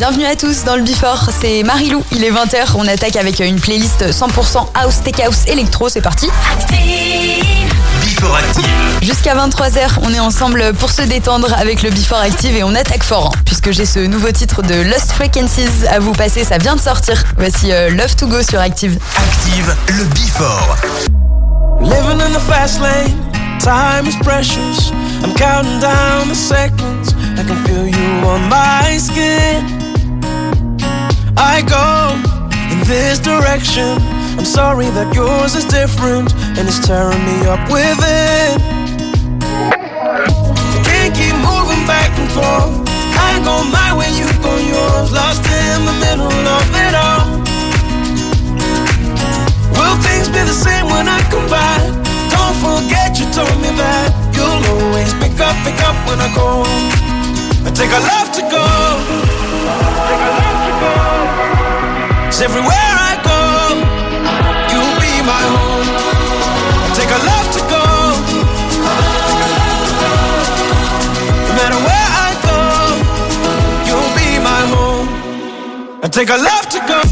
Bienvenue à tous dans le Before, c'est Marilou, il est 20h, on attaque avec une playlist 100% house, tech house, électro, c'est parti. Before Active. Jusqu'à 23h, on est ensemble pour se détendre avec le Before Active et on attaque fort, puisque j'ai ce nouveau titre de Lost Frequencies à vous passer, ça vient de sortir. Voici Love to Go sur Active. Active, le Before. Living in the fast lane, time is precious. I'm counting down the seconds, I can feel you on my skin. I go in this direction, I'm sorry that yours is different, and it's tearing me up within. I can't keep moving back and forth, I go my way, you go yours, lost in the middle of it all. Will things be the same when I come back? Don't forget you told me that you'll always pick up when I go. I take a love to go. Cause everywhere I go, you'll be my home. I take a love to go. No matter where I go, you'll be my home. I take a love to go.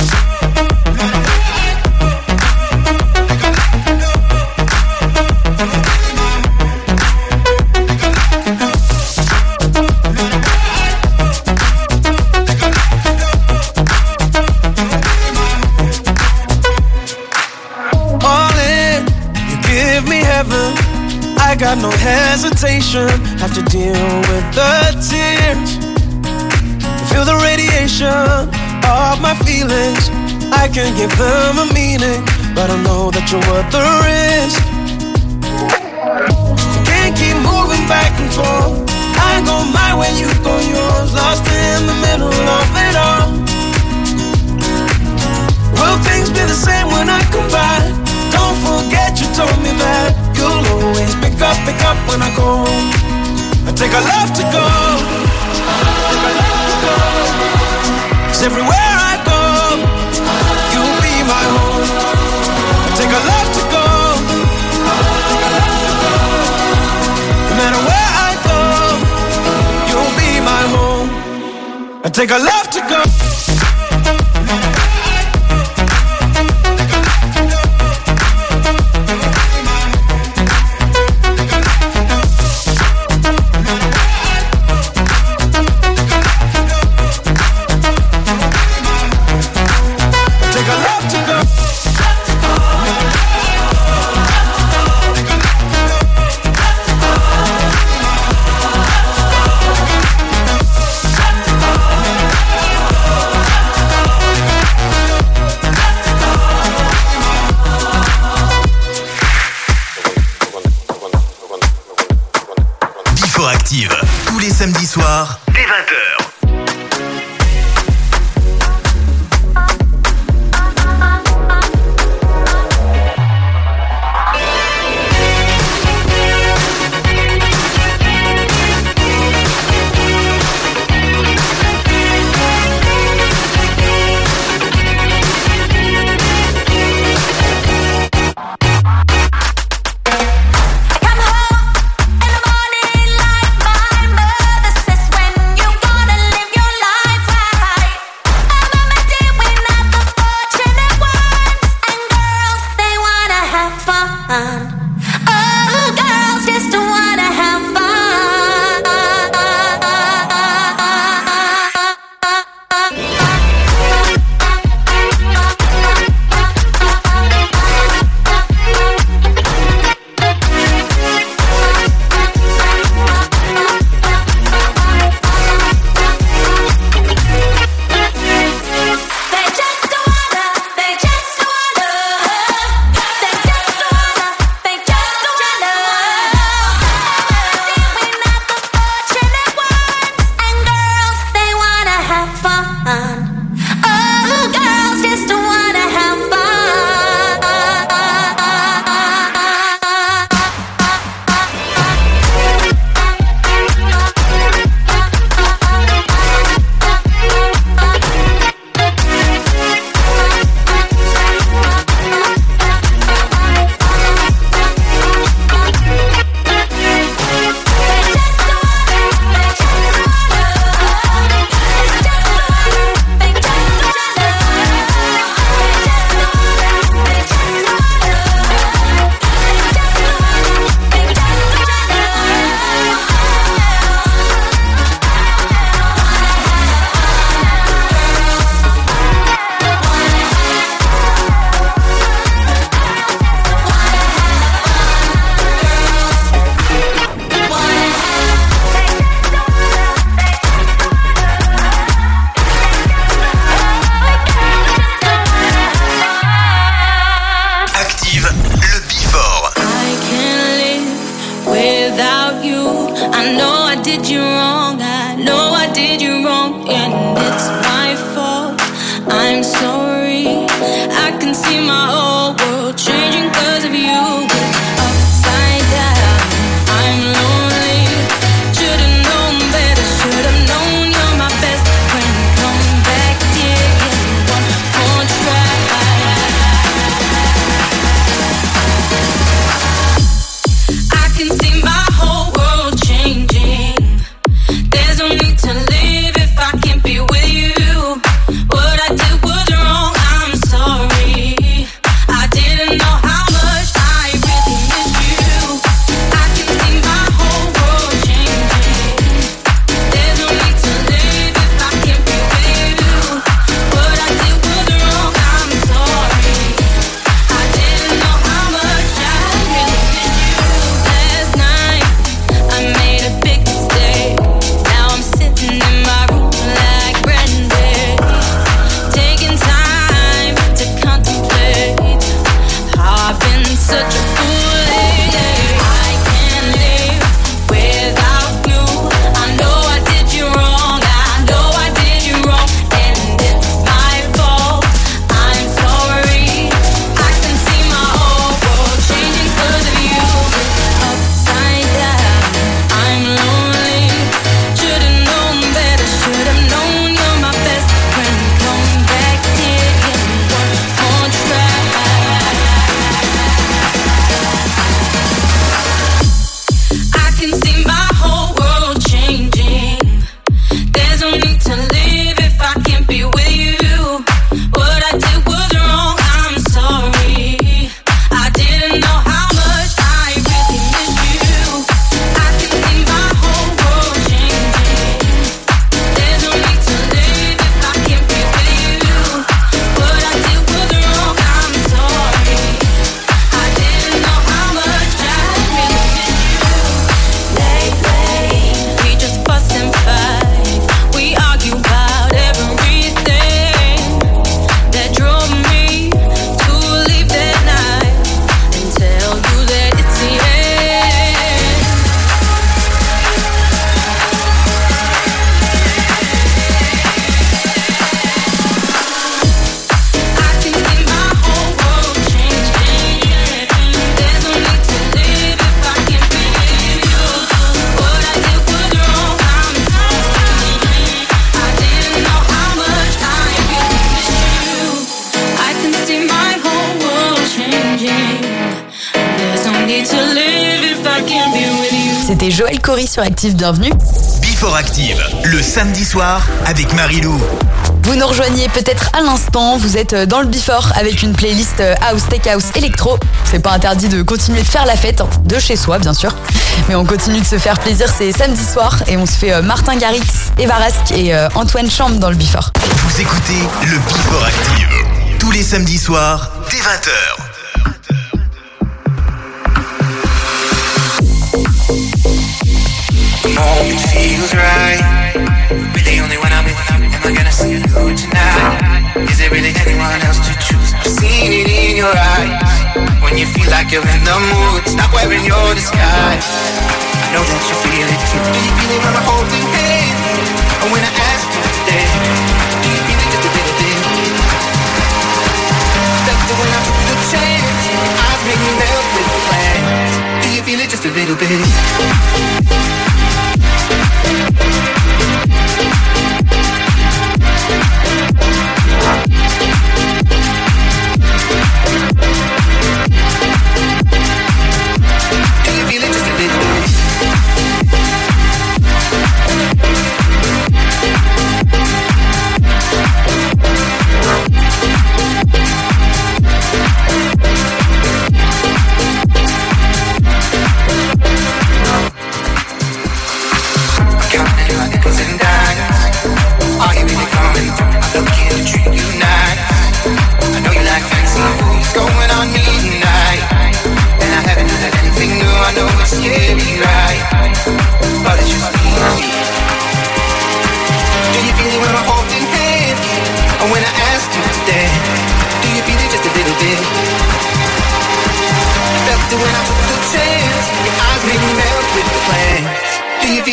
I got no hesitation, have to deal with the tears. Feel the radiation of my feelings, I can give them a meaning, but I know that you're worth the risk. You can't keep moving back and forth, I go my way, you go yours, lost in the middle of it all. Will things be the same when I come back? Don't forget you told me that you'll always pick up when I go. I take a love to go. Cause everywhere I go, you'll be my home. I take a love to go. No matter where I go, you'll be my home. I take a love to go. Active, tous les samedis soirs, dès 20h. Come home in the morning like my mother says, when you gonna did you wrong. I know I did you wrong, and it's my fault. I'm sorry. I can see my whole world changing 'cause of you. But upside down, I'm lonely. Should've known better, should've known you're my best friend. Come back here, give me one more try. I can see my whole world changing. There's no need to live if I can't be with you. What I did was wrong, I'm sorry. I didn't know how much I really miss you. I can see my whole world changing. There's no need to live if I can't be with you. What I did was wrong, I'm sorry. I didn't know how much I really miss you. Last night I made a big mistake. Now I'm sitting in my room like Brandy, taking time to contemplate how I've been such a fool lately. I can't live without you. I know I did you wrong. I know I did you wrong, and it's my fault. I'm sorry. I can see my whole world changing 'cause of you. Upside down, I'm lonely. Should've known better, should've known you're my best friend. Come back here, give me one more try. I can see my whole world changing. There's no need to live if I can't be with you. What I did was wrong, I'm sorry. I didn't know how much I really miss you. I can see my whole world changing. There's no need to live if I can't be with you. What I did was wrong, I'm sorry. I didn't know how much I really miss you. Lately, we just fuss and fight. We argue about everything that drove me to leave that night and tell you that it's the end. I can see my whole world changing. There's no need to live if I can't be with you. What I did was wrong, I'm sorry. I didn't know how much I really miss you. I can see my whole world changing. There's no need to live if I can't be with you. C'était Joël Corry sur Active, bienvenue. Before Active, le samedi soir avec Marilou. Vous nous rejoignez peut-être à l'instant, vous êtes dans le Before avec une playlist house, tech house, électro. C'est pas interdit de continuer de faire la fête, hein, de chez soi bien sûr. Mais on continue de se faire plaisir, c'est samedi soir et on se fait Martin Garrix, Eva Rask et Antoine Chambre dans le Before. Vous écoutez le Before Active tous les samedis soirs dès 20h. Moment feels right. Really only when I'm with you am I gonna see you tonight. Is there really anyone else to choose? I've seen it in your eyes. When you feel like you're in the mood, stop wearing your disguise. I know that you feel it too. Do you feel it when I hold your hand? And when I ask you today, do you feel it just a little bit? That's the way I took the chance. Your eyes make me melt with the plans. Do you feel it just a little bit?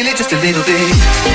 feel it just a little bit?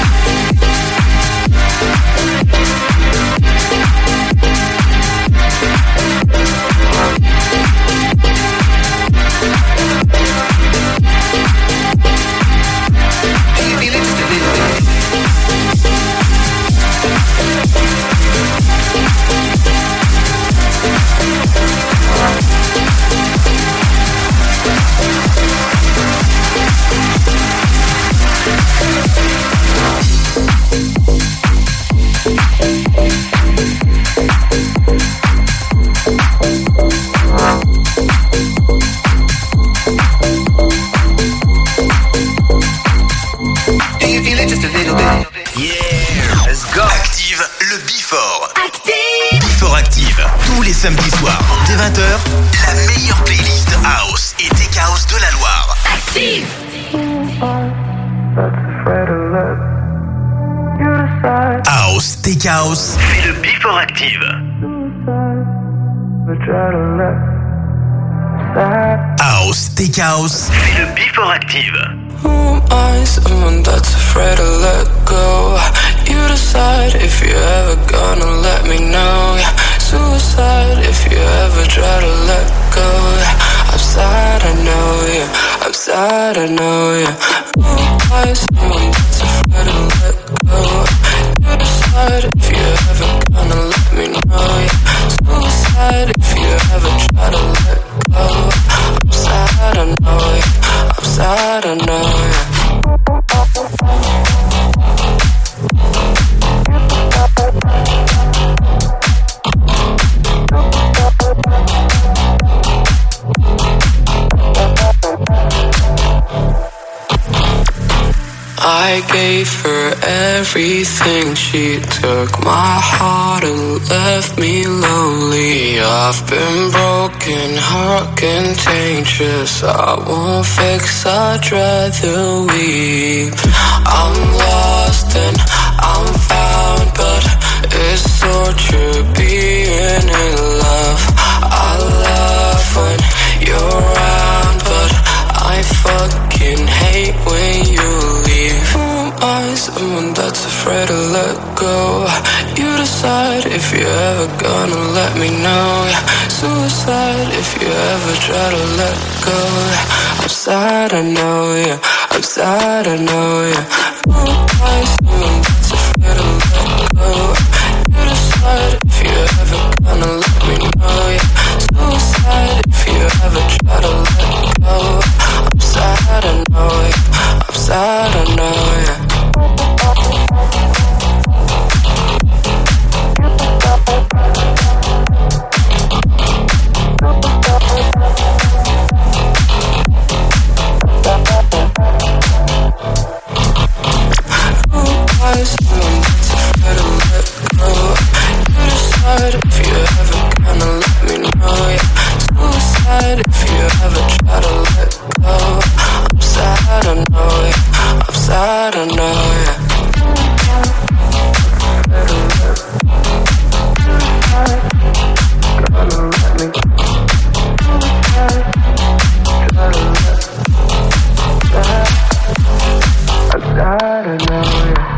Samedi soir, dès 20h, la meilleure playlist house et tech house de la Loire. Active. House, tech house, c'est le Before Active. House, tech house, c'est le Before Active. Who am I? Someone that's afraid to let go. You decide if you're ever gonna let me know. Suicide if you ever try to let go. I'm sad, I know, yeah. I'm sad, I know, yeah. Who am I? Someone that's afraid to let go. You decide if you ever gonna let me know, yeah. Suicide if you ever try to let go. I'm sad, I know, yeah. I'm sad, I know, yeah. I gave her everything, she took my heart and left me lonely. I've been broken, heart contagious. I won't fix, I'd rather weep. I'm lost and I'm found, but it's torture being in love. I love when you're around, but I fucking hate when you leave. Who am I? Someone that's afraid to let go. You decide if you're ever gonna let me know. Suicide if you ever try to let go. I'm sad, I know, yeah. I'm sad, I know, yeah. Who am I? Someone that's afraid to let go. You decide if you're ever gonna let me know, yeah. Suicide if you ever try to let go. I'm sad, I know, yeah. I'm sad, I know, yeah. Someone that's afraid to let go. You decide if you ever gonna let me know, yeah. Suicide if you ever try to let go. I'm sad, I know, yeah. I'm sad, I know, yeah. I'm sad, I know, yeah.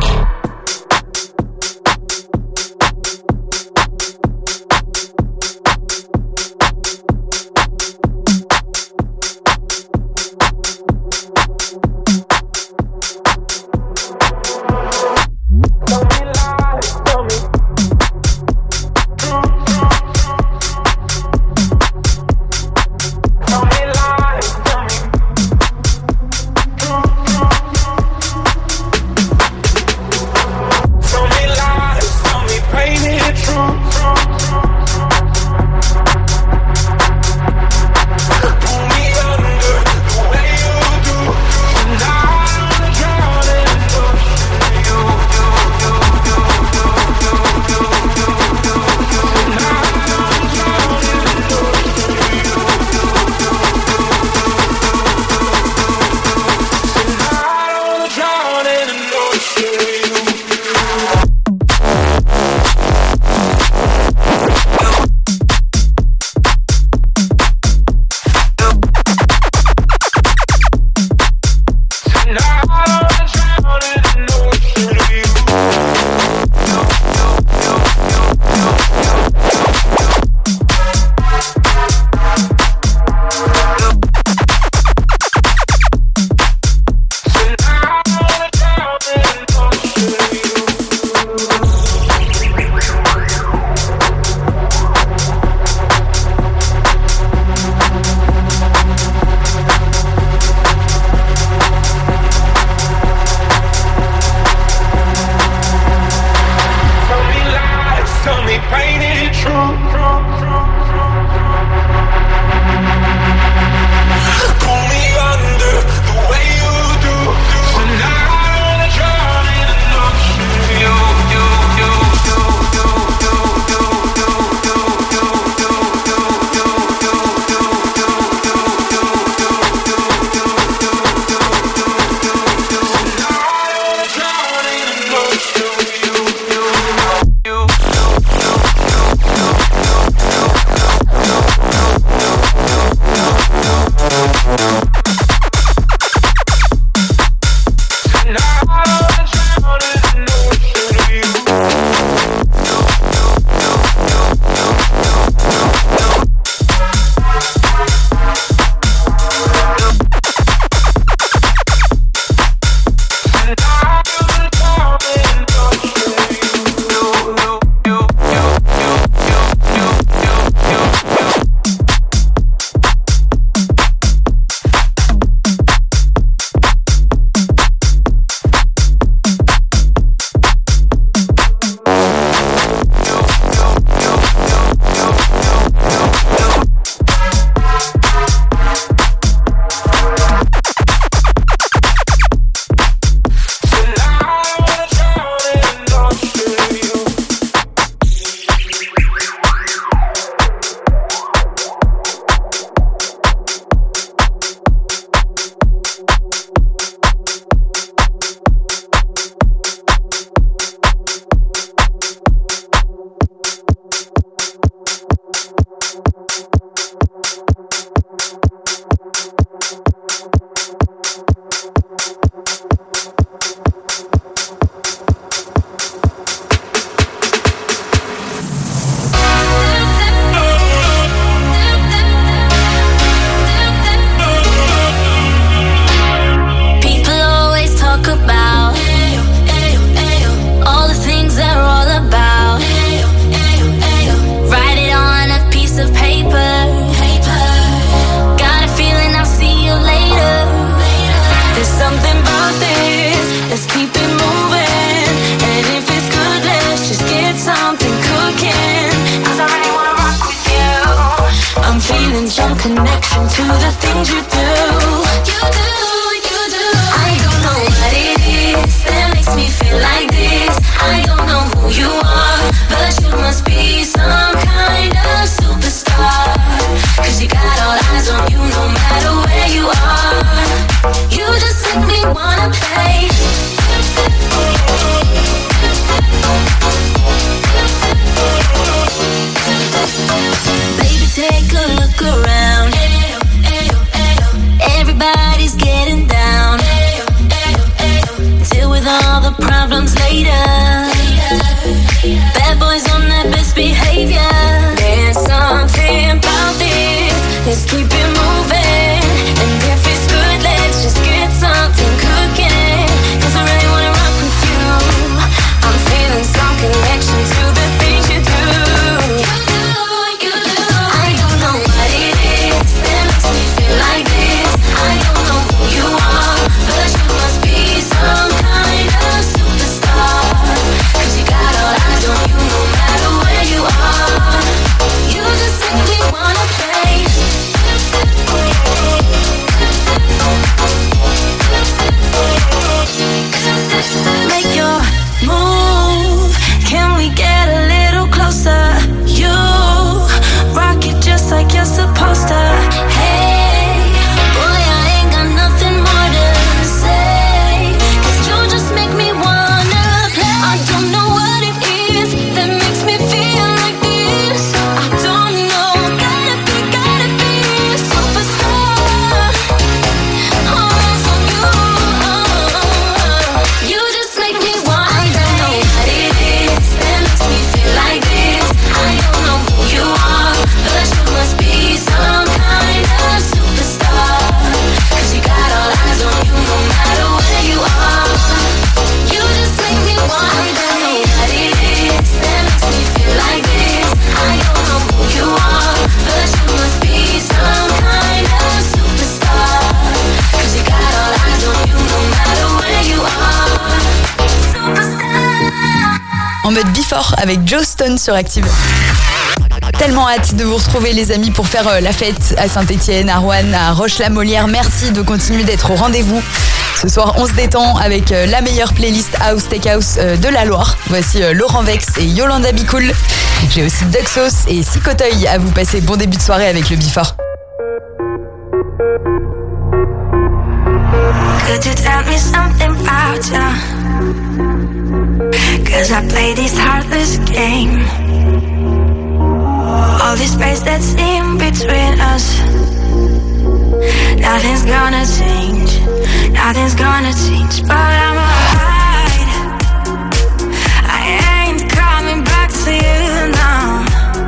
I connection to the things you do. I don't know what it is that makes me feel like this. I don't know who you are, but you must be some kind of superstar. Cause you got all eyes on you no matter where you are. You just make me wanna play. Baby, take a look around. Everybody's getting down. Deal with all the problems later. Bad boys on their best behavior. There's something about this. Let's keep it moving. And if it's good, let's just get something cooking. Cause I really wanna rock with you. I'm feeling some connection to the things you do. I don't know what it is that makes me feel like this. I don't know who you are, but you must be some kind of superstar. Cause you got all eyes on you no matter where you are. You just make me wanna play. Make your move. Can we get a little closer? You rock it just like you're supposed to. Hey, boy, I ain't got nothing more to say. Cause you just make me wanna play. I don't know what it is that makes me feel like this. I don't know, gotta be a superstar. All eyes on you. You just make me wanna play. I don't know what it is that makes me feel like this. I don't know who you are, but you must be some kind of superstar. Cause you got all eyes on you no matter where you are. You just make me wanna play. I don't know what it is that makes me feel like this. I don't know who you are, but you must be some kind of superstar. Cause you got all eyes on you no matter where you are. Superstar. En mode Before avec Joe Stone sur Active. tellement hâte de vous retrouver les amis pour faire la fête à Saint-Etienne, à Roanne, à Roche-la-Molière. Merci de continuer d'être au rendez-vous. Ce soir, on se détend avec la meilleure playlist House Tech House de la Loire. Voici Laurent Vex et Yolanda Be Cool. J'ai aussi Duxos et Sicoteuil à vous passer. Bon début de soirée avec le Before. Could you tell me something about you? 'Cause I play this heartless game. All this space that's in between us, nothing's gonna change, nothing's gonna change. But I'm alright, I ain't coming back to you now.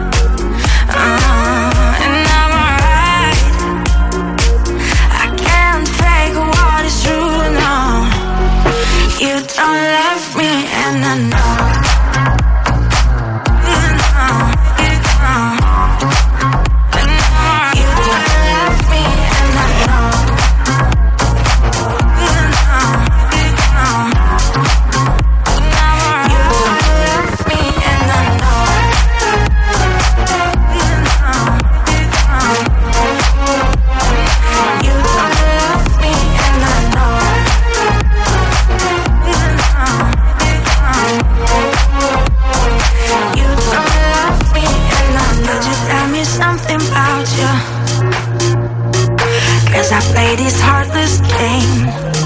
And I'm alright, I can't fake what is true now. You don't love me and I know. I play this heartless game.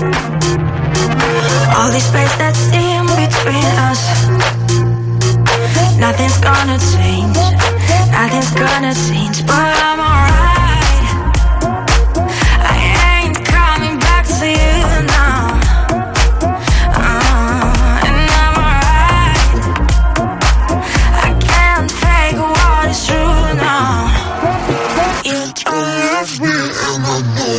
All this space that's in between us, nothing's gonna change, nothing's gonna change. But I'm alright, I ain't coming back to you now. And I'm alright, I can't fake what is true now. You don't love me and I know.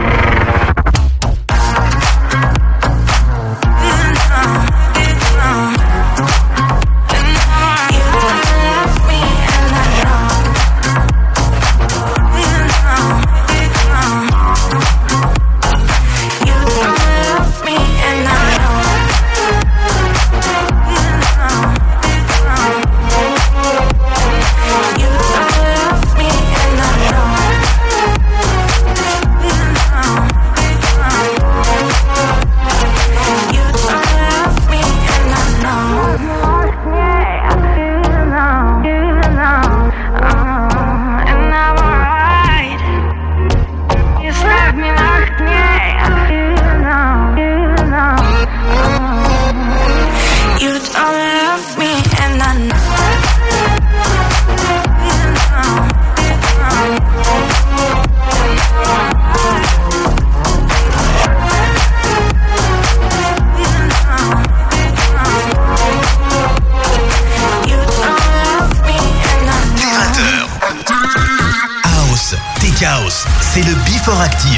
C'est le Before Active.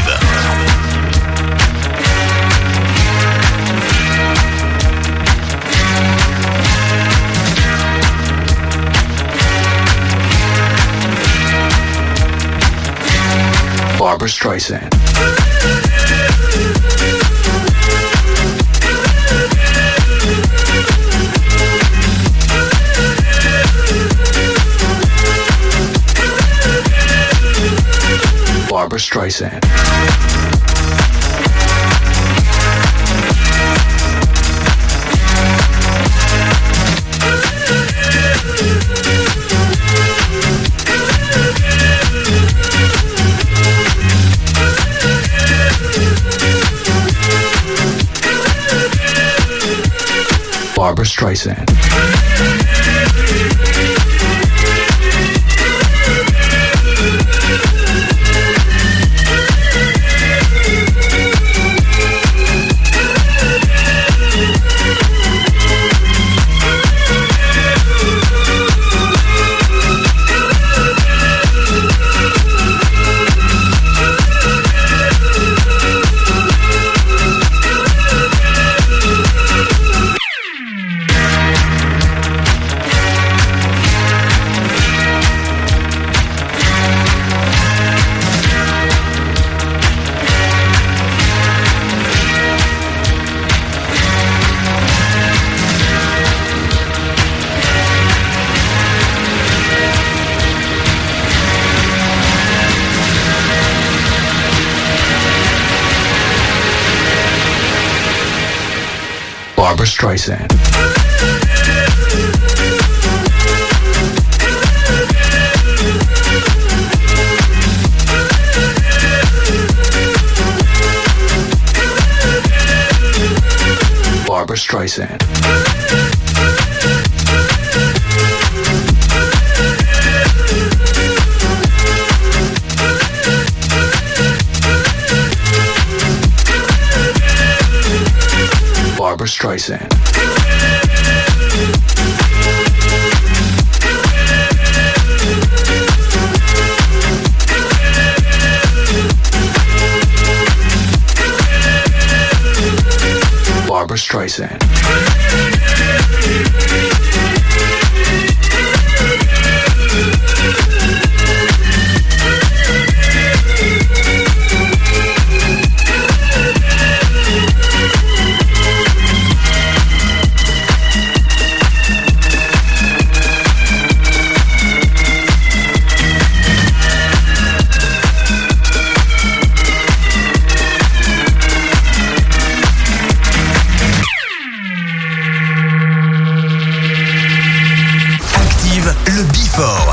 Barbra Streisand. Barbra Streisand. Barbra Streisand. Barbra Streisand. Barbra Streisand. Barbra Streisand. Barbra Streisand. Le Before.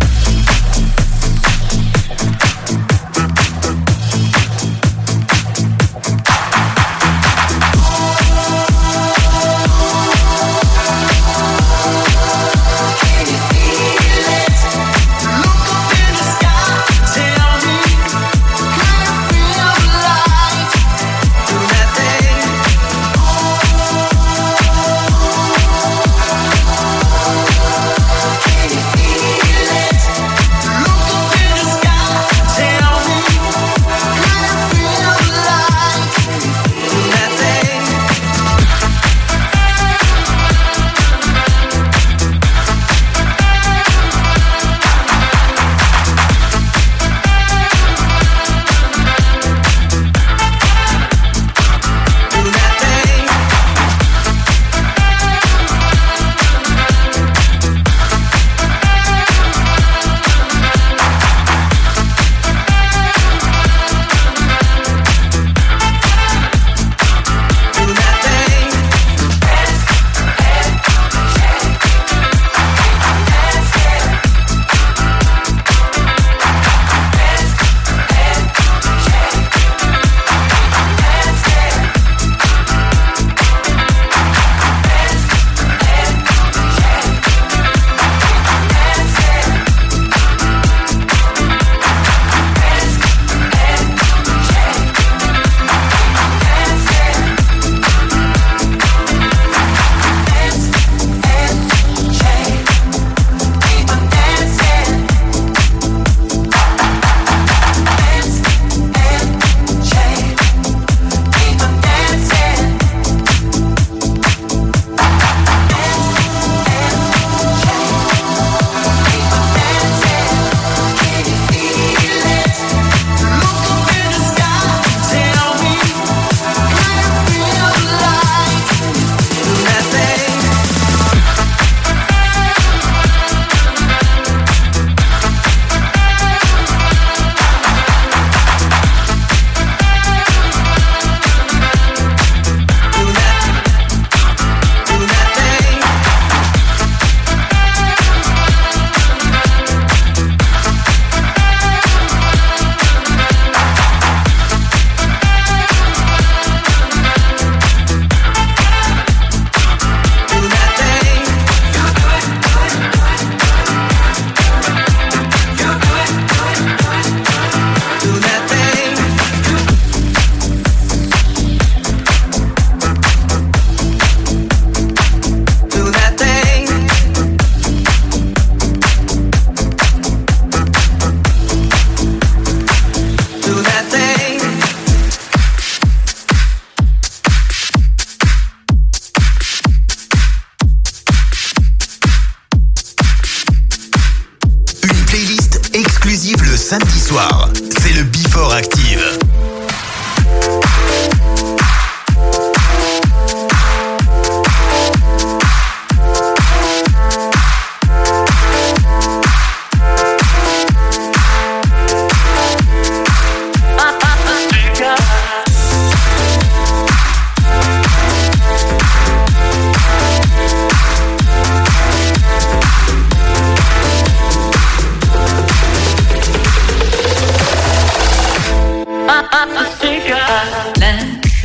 samedi soir. C'est le Before Active.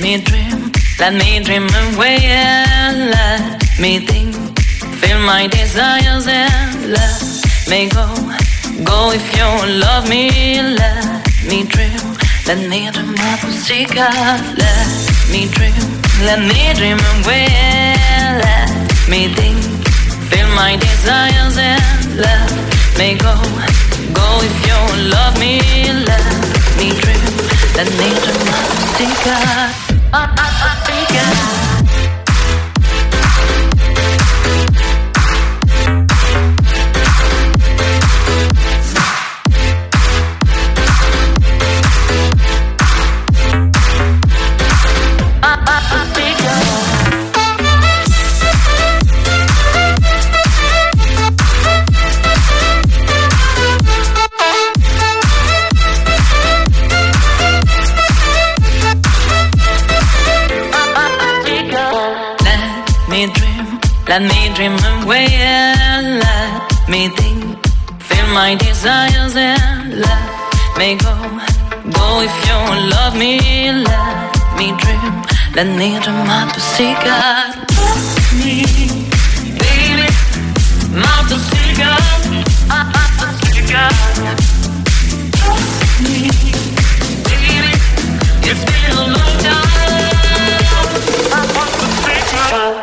me dream, let me dream away and let me think. Feel my desires and let me go. Go if you love me, let me dream. Let me dream of a secret, let me dream. Let me dream away and let me think. Feel my desires and let me go. Go if you love me, let me dream. Let me dream of a secret, a secret. Let me dream away and let me think. Feel my desires and let me go. Go if you love me, let me dream. Let me dream of the secret. Trust me, baby, not the secret. The secret. Trust me, baby, it's been a long time. I want the secret.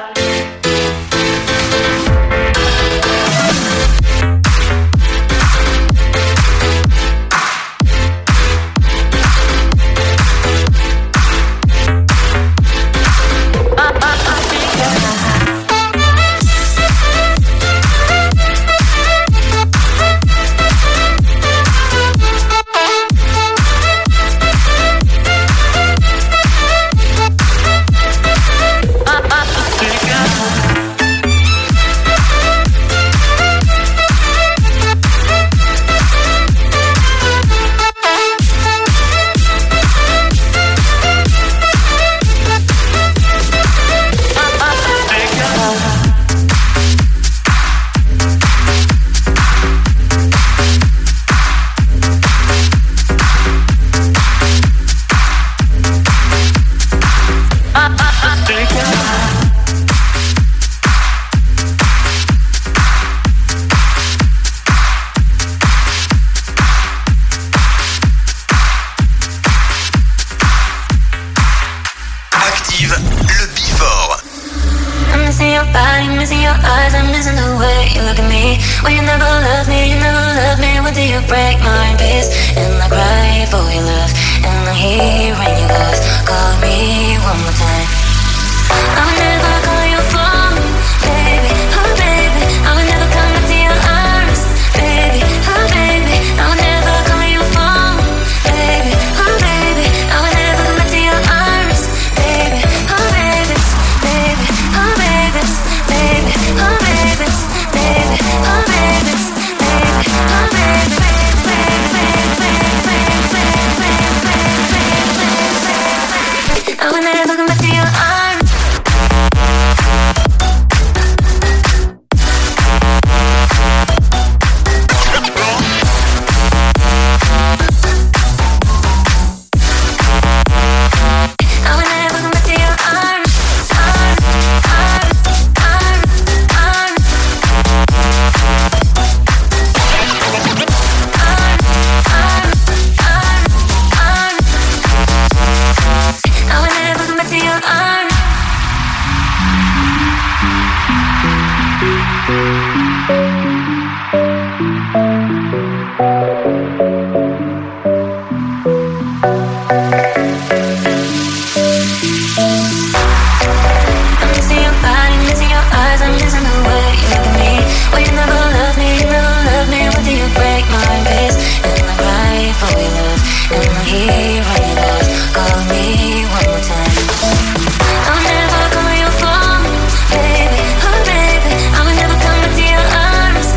Arms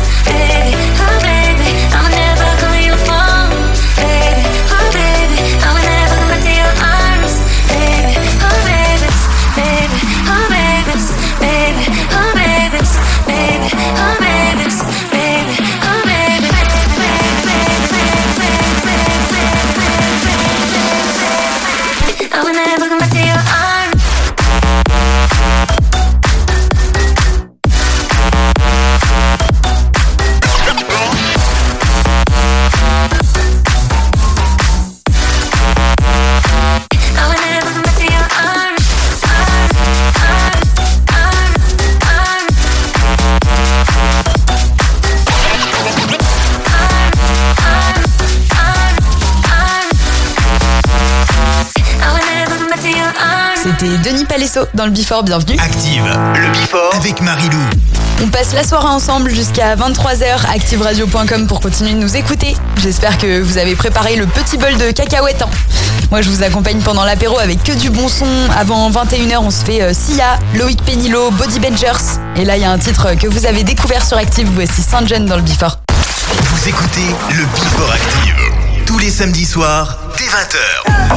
Palesso dans le Before, bienvenue. Active, le Before avec Marilou. On passe la soirée ensemble jusqu'à 23h, activeradio.com pour continuer de nous écouter. J'espère que vous avez préparé le petit bol de cacahuètes. Moi, je vous accompagne pendant l'apéro avec que du bon son. Avant 21h, on se fait Sia, Loïc Pénilo, Body Bangers. Et là, il y a un titre que vous avez découvert sur Active. Voici Saint-Jean dans le Before. Vous écoutez le Before Active tous les samedis soirs dès 20h.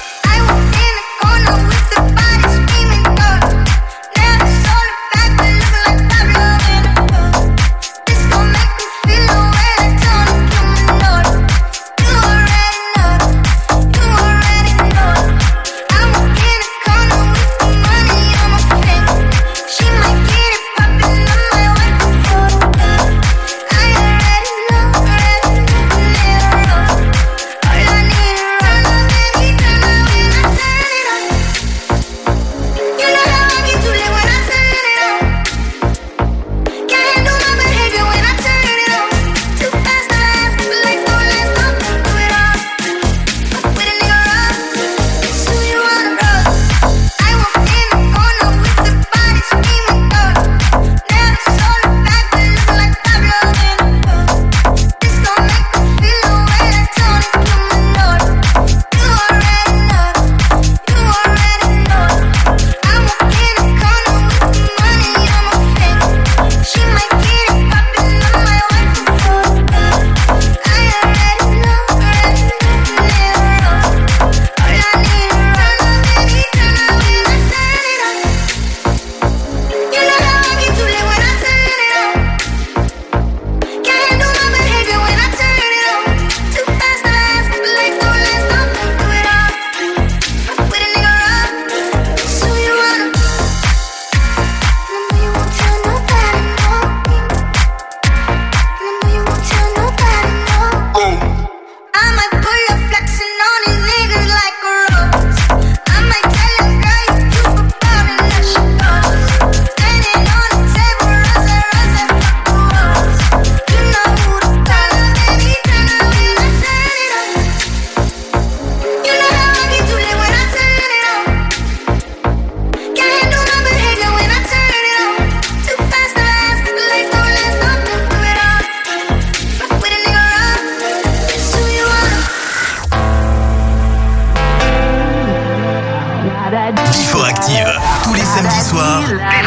Before Active, tous les samedis soirs, dès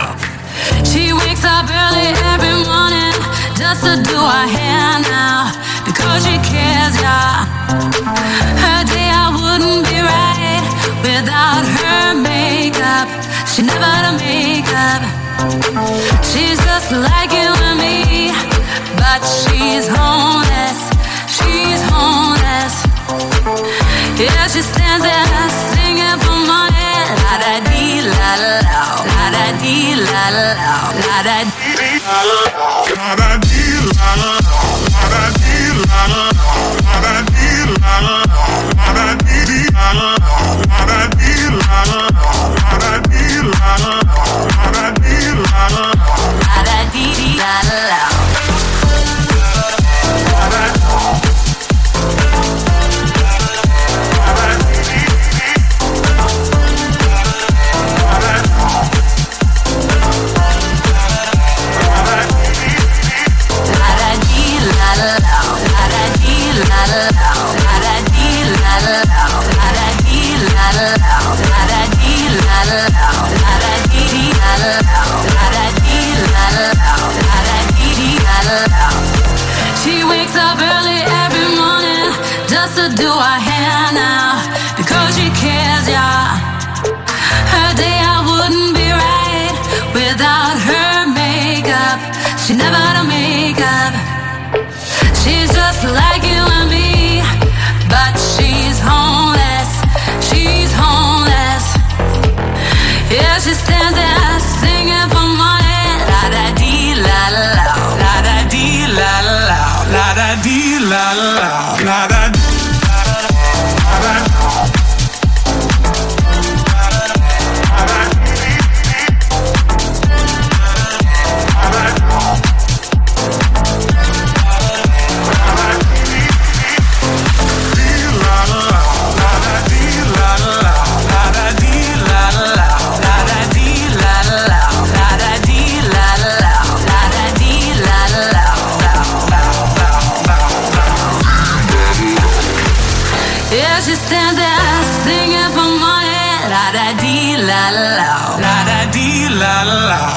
20h. She wakes up early every morning just to do her hair now because she cares, yeah. Her day I wouldn't be right without her makeup. She never had makeup. She's just like you and me, but she's homeless. She's homeless. Yeah, she stands there singing for money. La da dee la la la da dee la la la da dee la la dee la la dee la la dee la la dee la la dee la la dee la la dee la la dee la la. She wakes up early every morning just to do her hair now because she cares, yeah. Her day I wouldn't be right without her makeup. She never had a makeup. She's just like you and me, but she's homeless. She's homeless. Yeah, she stands there singing for money. La da dee la la, la da dee la la, la da dee la la, la da dee.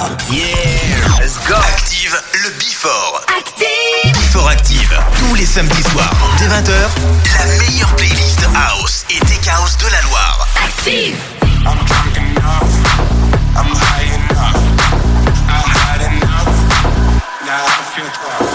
Yeah, let's go. Active le Before. Active. Before Active. Tous les samedis soirs, dès 20h, la meilleure playlist house et tech house de la Loire. Active. I'm drunk enough. I'm high enough. I had enough. Now I feel tough.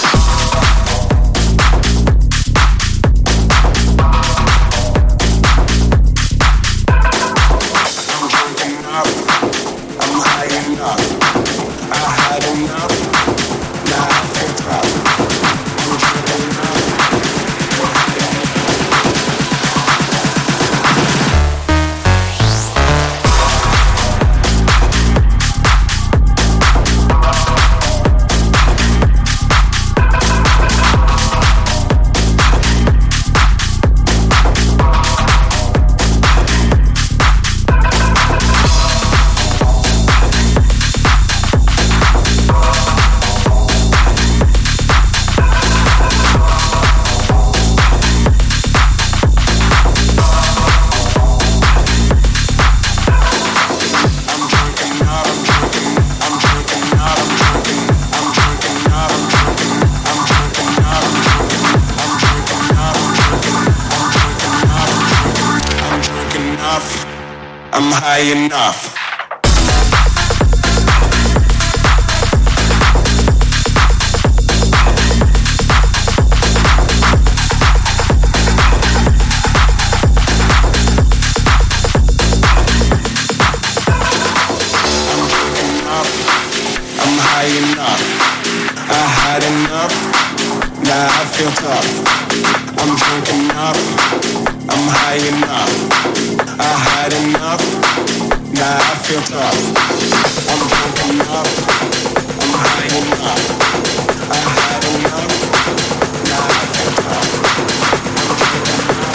I'm high enough. I'm high enough. I had enough. Now I feel tough. I'm drunk enough. I'm high enough. I had enough. Now I feel tough. I'm drunk enough. I'm high enough. I had enough. Now I feel tough. I'm drunk enough.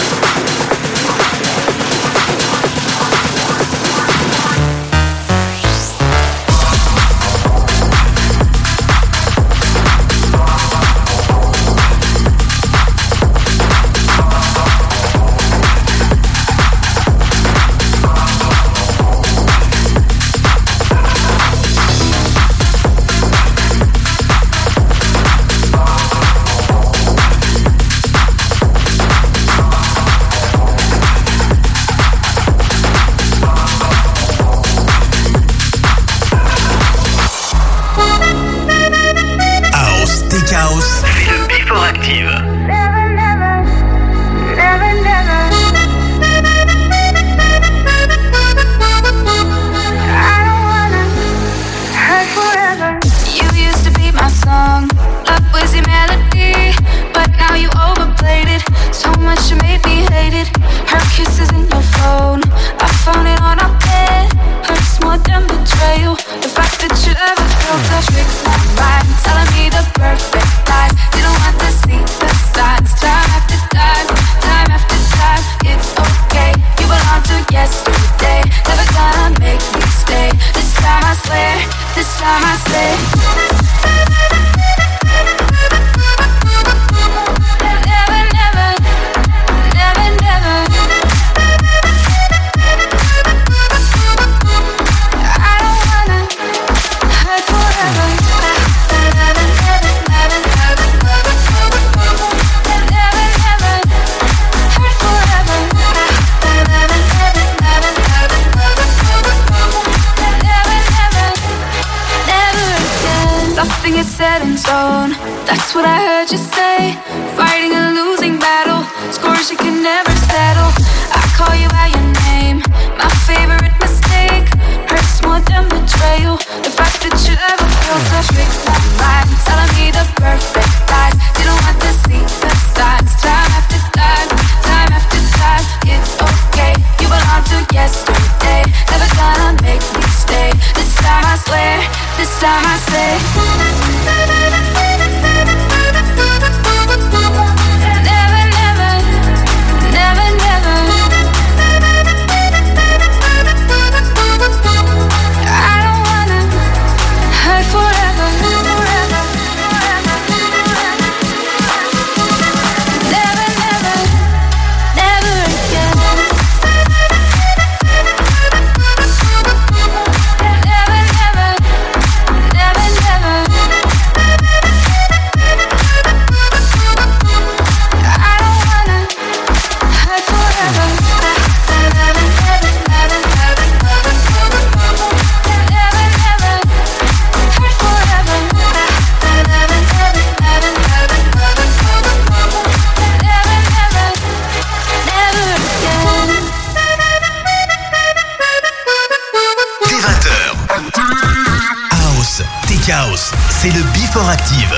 Tech House, c'est le Before Active.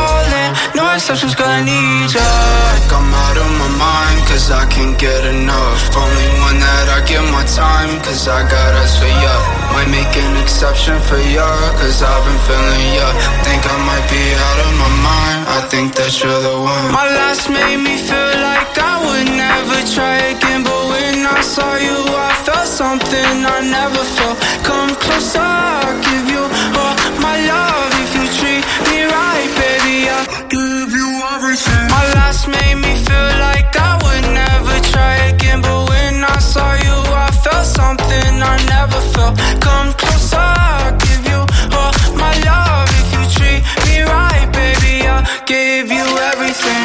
Like I'm out of my mind, cause I can't get enough. time, cause I got us for ya. Might make an exception for ya, cause I've been feeling ya. Think I might be out of my mind, I think that you're the one. My last made me feel like I would never try again, but when I saw you I felt something I never felt. Come closer, I'll give you all my love. If you treat me right, baby, I'll give you everything. My last made me feel like I would never try again, but when I saw you I felt something I never felt. Come closer, I'll give you all my love. If you treat me right, baby, I'll give you everything.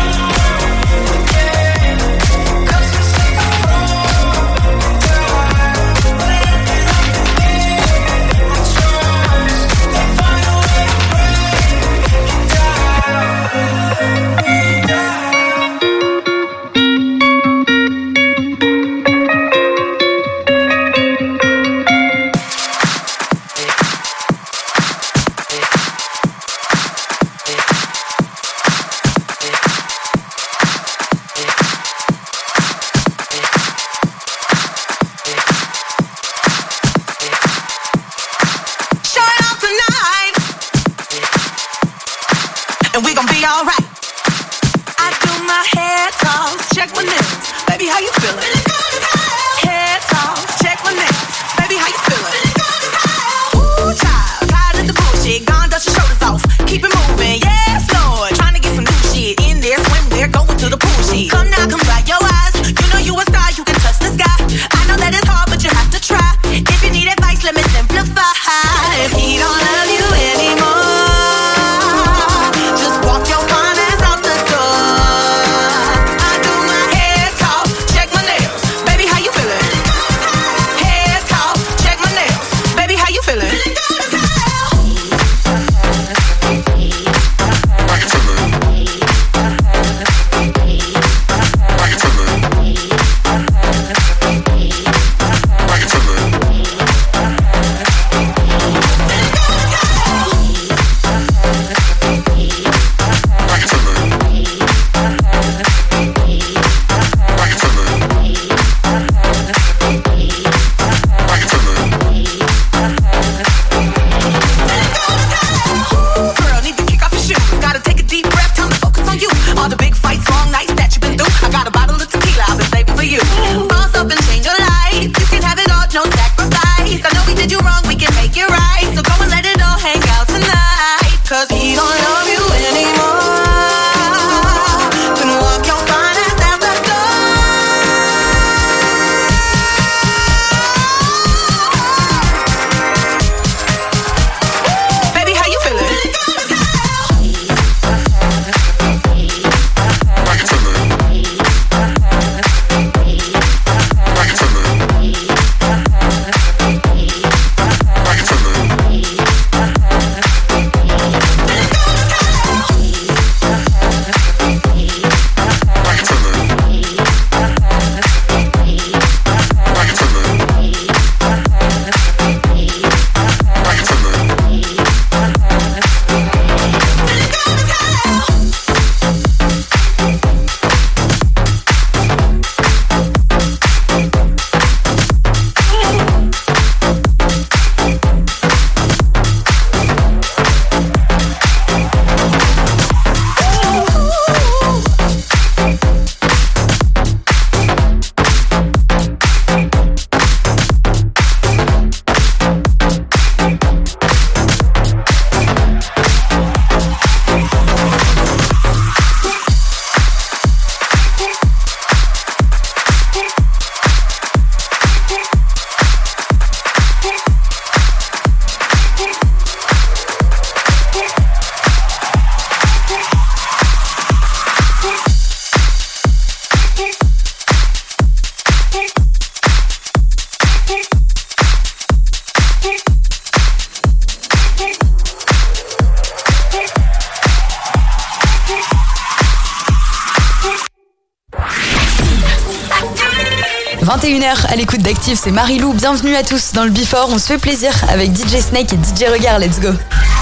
« 21h à l'écoute d'Active, c'est Marie-Lou. Bienvenue à tous dans le Before. On se fait plaisir avec DJ Snake et DJ Regard. Let's go.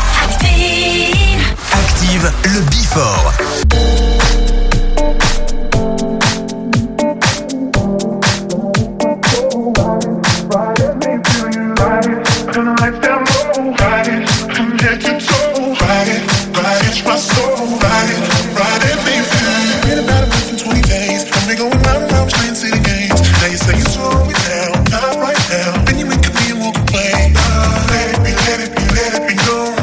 Active, le Before. I was playing city games. Now you say you slow me down, not right now. Then you wink at me and walk away. Let it be, let it be, let it be known.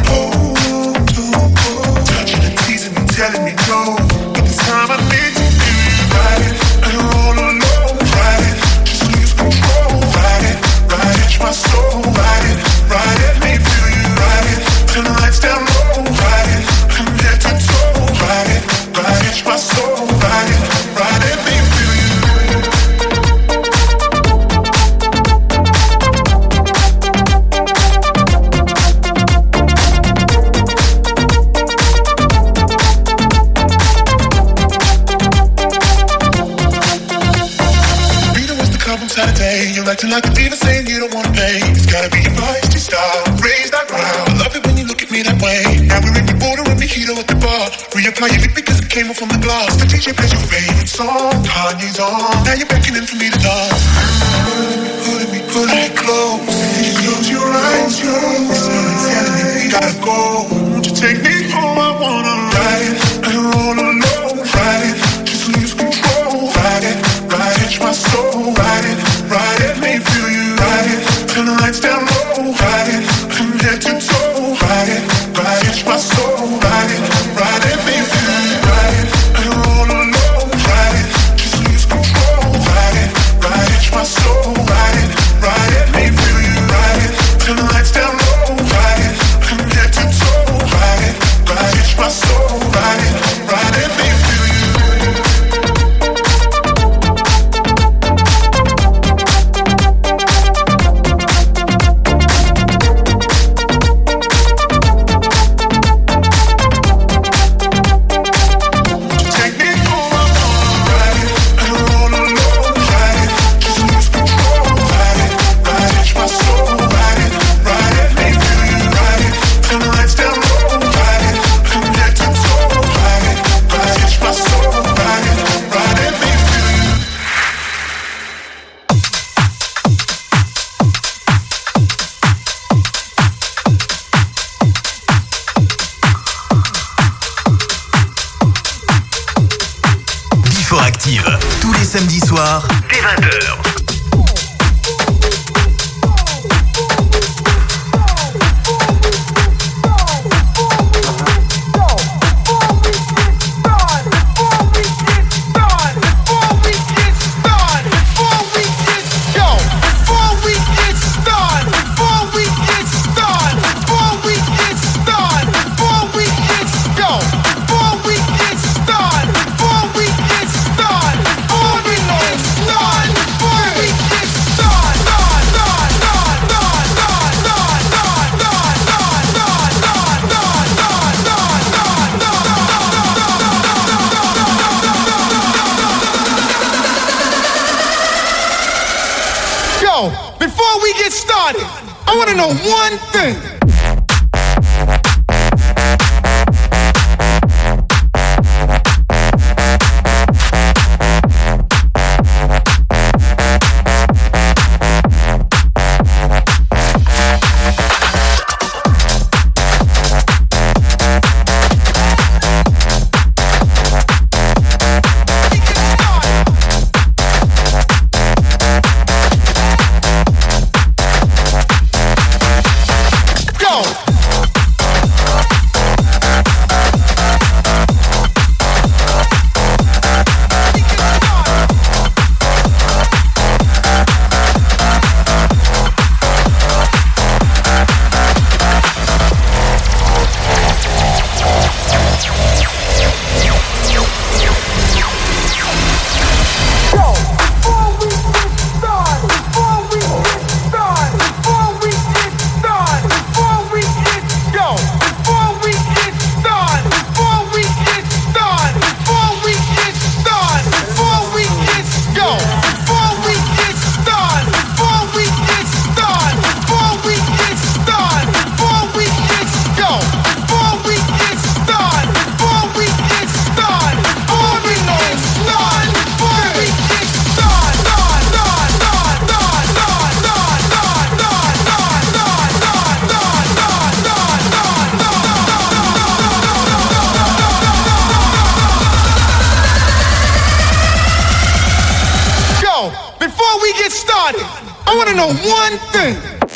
Touching and teasing me, telling me no. But this time I need to feel you. Ride it, and roll alone. Ride it, just lose control. Ride it, touch my soul. Ride it, make me feel you. Ride it, turn the lights down low. Ride it, from head to toe. Ride it, touch my soul. Ride it, make me feel you. Saturday, you're acting like a diva, saying you don't wanna pay. It's gotta be your feisty style, raise that ground. I love it when you look at me that way. Now we're in the border and mojito at the bar. Reapply your lip because it came off from the glass. The DJ plays your favorite song, Kanye's on. Now you're beckoning for me to dance. Pulling me close. You close your eyes, telling me we gotta go. Won't you take me home? I wanna ride it and roll alone. Ride it, just lose control. Ride it, touch my soul. Ride it, make me feel you. Ride it, turn the lights down low. Ride it, from head to toe. Ride it, touch my soul. Ride it, make me feel you. Ride it, and roll alone. Ride it, just lose control. Ride it, touch my soul. Ride it, make me feel you. Ride it, turn the lights down low. Ride it, from head to toe. Ride it, touch my soul. Ride it, make me feel you. Tous les samedis soirs, dès 20h. Before we get started, I want to know one thing. Yo, before we get started, I want to know one thing.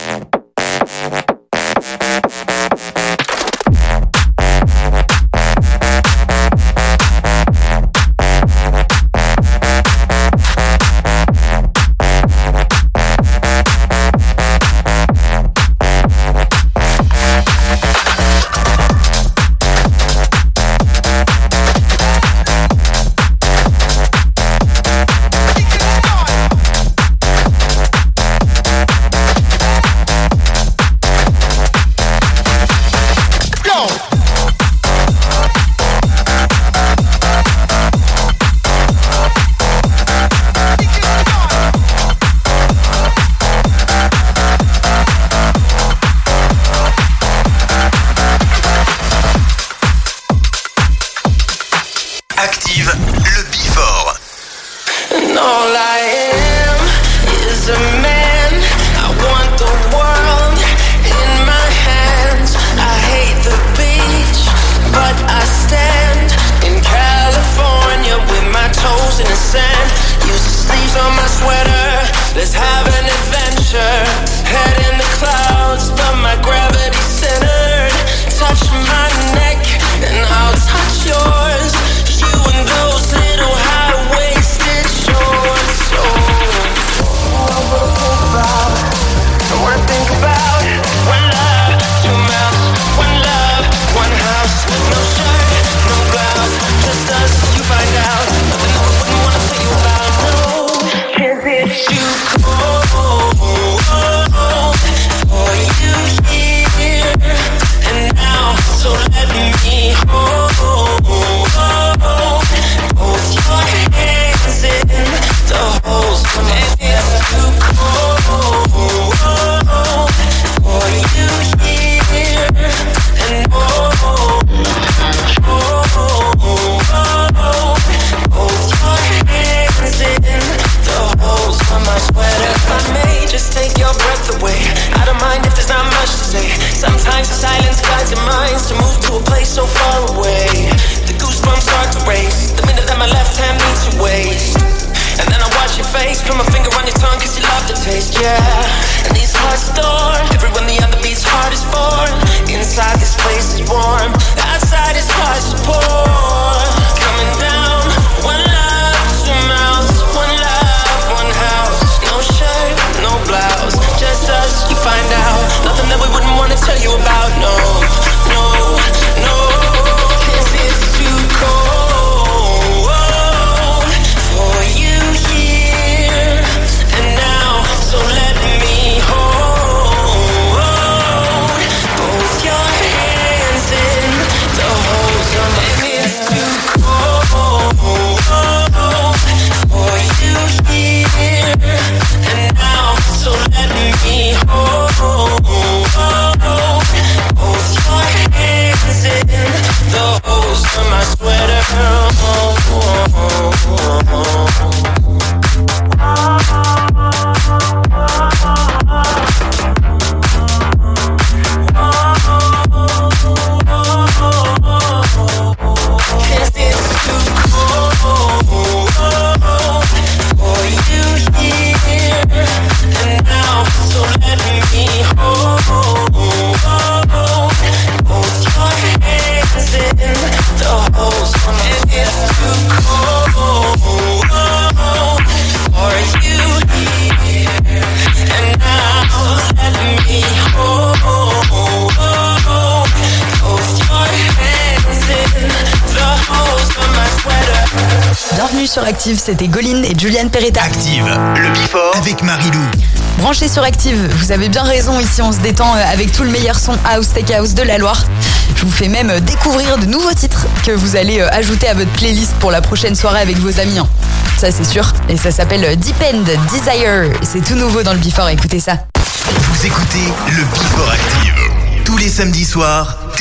Sur Active, c'était Goline et Juliane Peretta. Active, le Before avec Marilou. Branchez sur Active, vous avez bien raison, ici on se détend avec tout le meilleur son House Tech House de la Loire. Je vous fais même découvrir de nouveaux titres que vous allez ajouter à votre playlist pour la prochaine soirée avec vos amis. Ça c'est sûr, et ça s'appelle Depend Desire. C'est tout nouveau dans le Before, écoutez ça. Vous écoutez le Before Active, tous les samedis soirs dès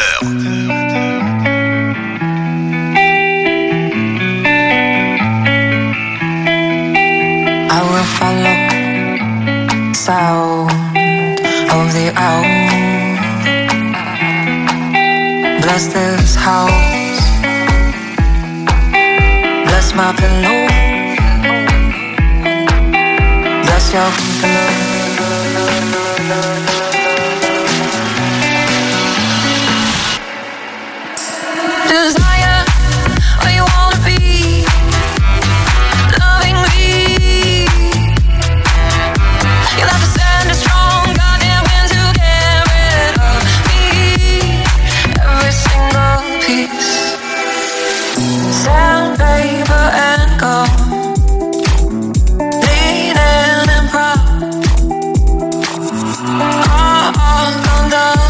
20h. I will follow sound of the owl. Bless this house, bless my pillow. 笑空飞了。Desire, where you wanna be, loving me. You'll have to send a strong goddamn wind to get rid of me. Every single piece, sandpaper and gold, leaning and proud, all gone done.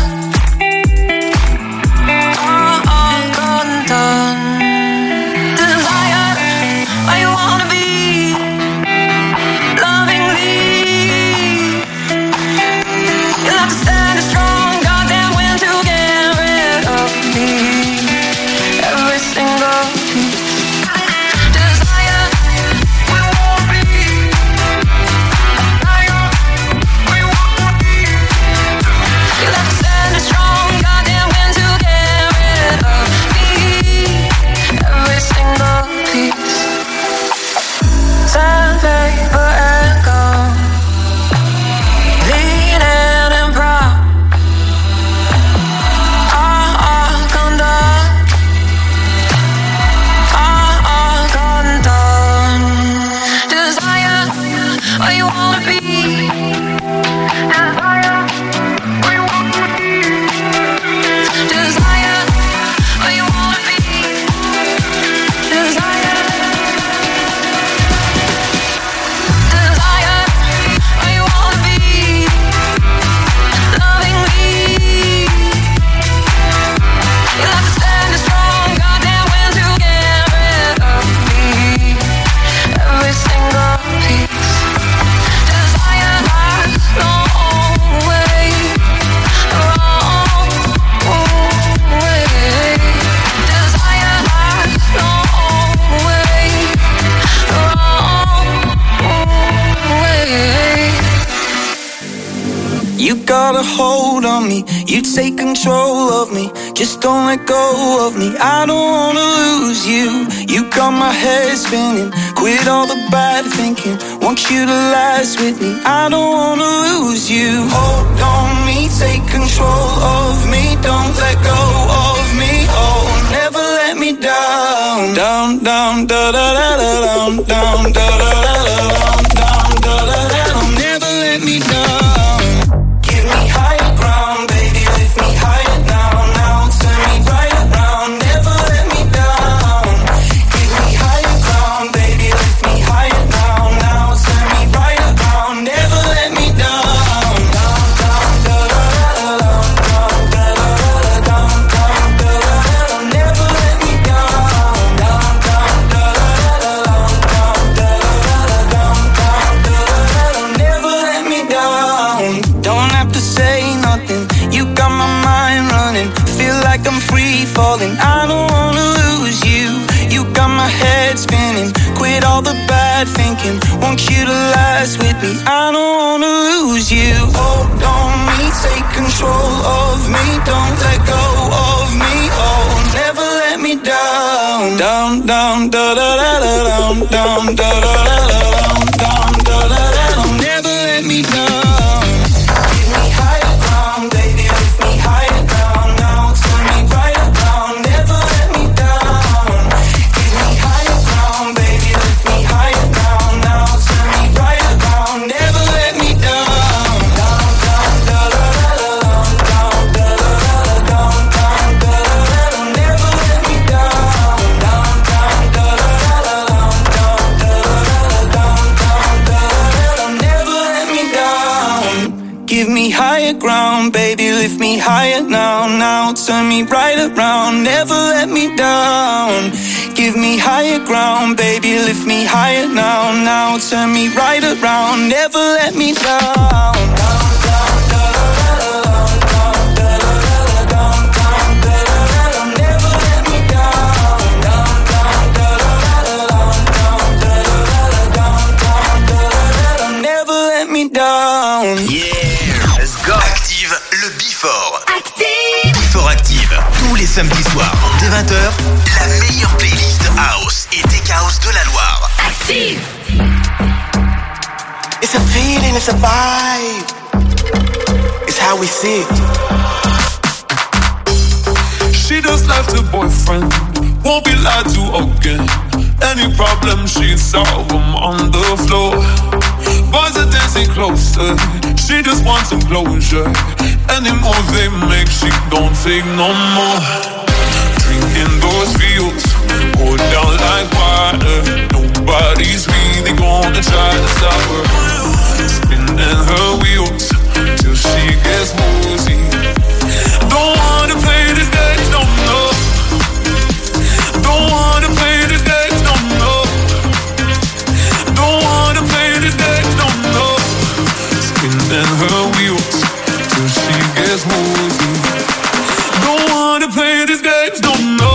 Desire, where you wanna be, loving me. You'll have to stand a strong goddamn wind to get rid of me. Every single piece. Desire, where you wanna be, where you wanna be. You'll have to stand a strong goddamn wind to get rid of me. Every single piece, sandpaper and gold, leaning and proud, all gone done, all gone done. Desire, where you wanna be, desire, where you wanna be, desire, where you wanna be. Desire, where you wanna be, loving me. You'll have to stand a strong goddamn wind to get rid of me. Every single piece. Desire, long way, wrong way. Desire, long way, wrong way. You got a hold on me, you take control of me. Just don't let go of me, I don't wanna lose you. You got my head spinning, quit all the bad thinking. Want you to last with me, I don't wanna lose you. Hold on me, take control of me. Don't let go of me, oh, never let me down. Down, down, da da da da, down, down, da da da da, down, da da da da. Never let me down. Give me higher ground, baby, lift me higher now, now. Turn me right around, never let me down. Give me higher ground, baby, lift me higher now, now. Turn me right around, never let me down. Down, down, da da da da, down, da da da da, down, down, da da da. Never let me down. Down, down, da da da da, down, da da da da, down, da da da. Never let me down. Don't have to say nothing, you got my mind running. Feel like I'm free falling, I don't wanna lose you. You got my head spinning, quit all the bad thinking. Want you to last with me, I don't wanna lose you. Hold on me, take control of me. Don't let go of me, oh, never let me down. Down, down, da da da da, down, down, da da da da, down, da da da da. Never let me down. Give me higher ground, baby, lift me higher down, now. Turn me right around, never let me down. Give me higher ground, baby, lift me higher down, now. Turn me right around, never let me down. Down, down, da da da da, down, da da da da, down, da da da. Never let me down. Down, down, da da da da, down, da da da, down, never let me down. Give me higher ground, baby, lift me higher now, now. Turn me right around, never let me down. Give me higher ground, baby, lift me higher now, now. Turn me right around, never let me down. Down, down, da da da da, down, da da da da, down, never let me down. Down, down, da da da da, down, da da da da, never let me down. Yeah, let's go. Active le Before. Active. Before Active, tous les samedis soirs, dès 20h, la meilleure playlist house et tech house de la Loire. Active. It's a feeling, it's a vibe. It's how we see it. She just left her boyfriend, won't be lied to again. Any problem she'd solve them on the floor. Boys are dancing closer, she just wants some closure. Any move they make, she don't take no more. Drinking those fields, go down like water. Nobody's really gonna try to stop her. Spinning her wheels till she gets woozy. Don't wanna play this game, no, no. Don't wanna play this game, no, no. Don't wanna play this game, no, no. Spinning her wheels till she gets woozy. Don't wanna play this game, no, no.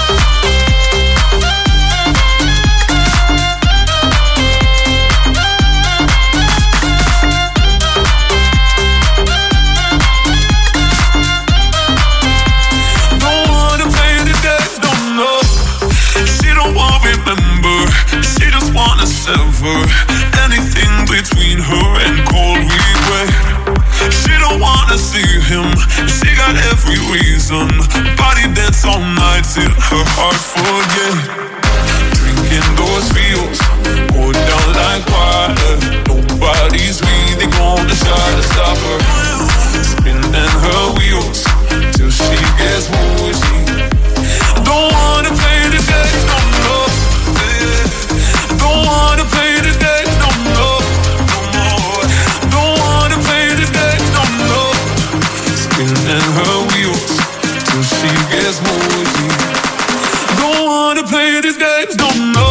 Sever anything between her and cold regret. She don't wanna see him, she got every reason. Body dance all night till her heart forget. Drinking those fields, go down like water. Nobody's really gonna try to stop her. Spinning her wheels till she gets woozy. Don't wanna play this game, no, no. Don't wanna play this game, no, no, no more. Don't wanna play this game, no, no. Spinning her wheels till she gets woozy. Don't wanna play this game, no, no.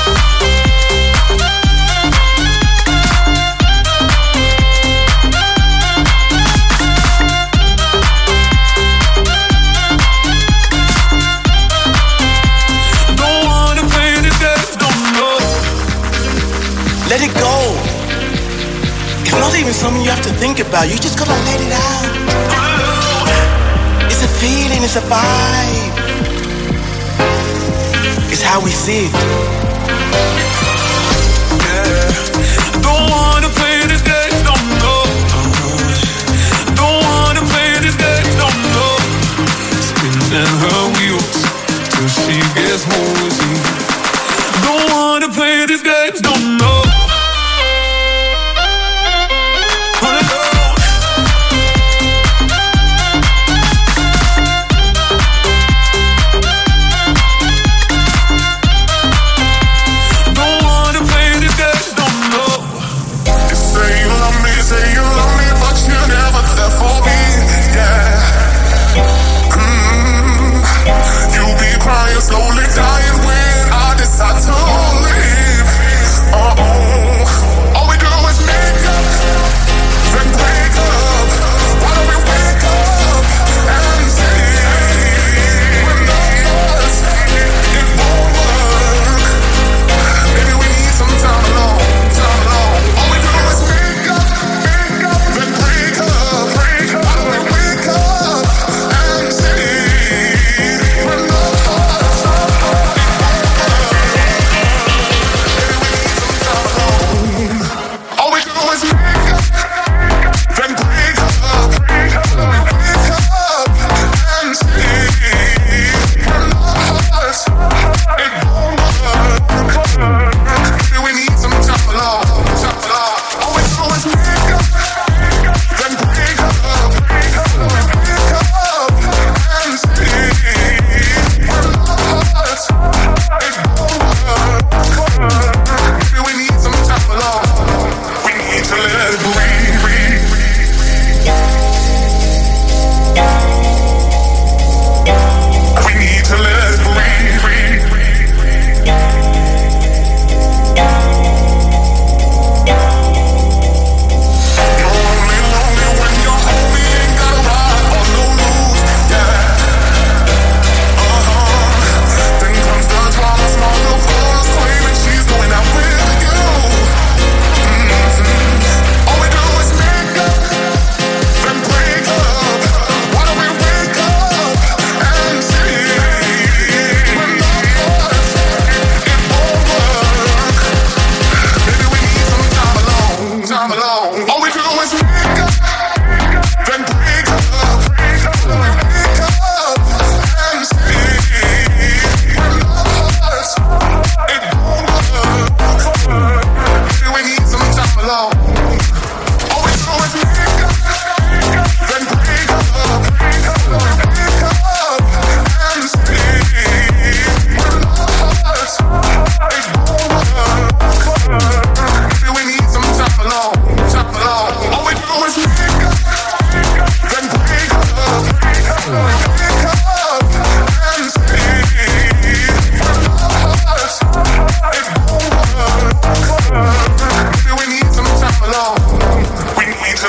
Let it go. It's not even something you have to think about. You just gotta let it out. It's a feeling, it's a vibe. It's how we see it. Yeah. Don't wanna play this game, no, no. Don't wanna play this game, no, no. Spinning her wheels till she gets woozy. Don't wanna play this game, no, no.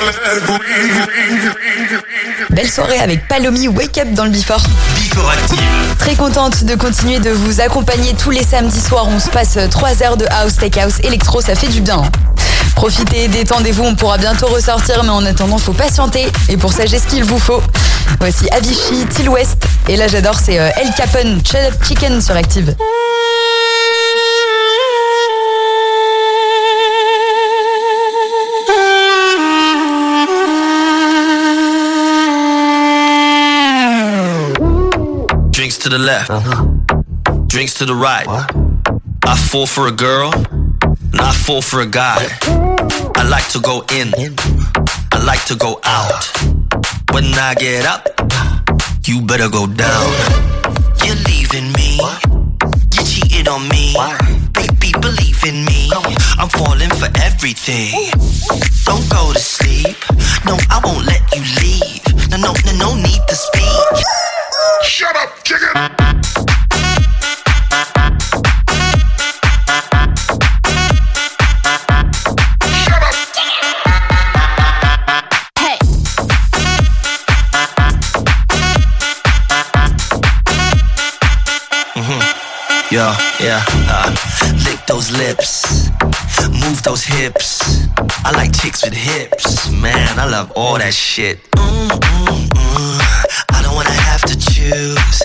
Belle soirée avec Palomi, Wake Up dans le Before. Before Active. Très contente de continuer de vous accompagner tous les samedis soirs. On se passe 3 heures de house, tech house, électro, ça fait du bien. Profitez, détendez-vous, on pourra bientôt ressortir, mais en attendant, faut patienter. Et pour ça, j'ai ce qu'il vous faut. Voici Avicii, Till West. Et là, j'adore, c'est El Capone, Shut Up Chicken sur Active. Drinks to the left, drinks to the right. What? I fall for a girl, and I fall for a guy. I like to go in, I like to go out. When I get up, you better go down. You're leaving me, you cheated on me. Baby, believe in me, I'm falling for everything. Don't go to sleep, no, I won't let you leave. No need to speak. Shut up, chicken! Shut up! Hey! Yeah. Lick those lips, move those hips. I like chicks with hips, man, I love all that shit. I don't wanna have to choose.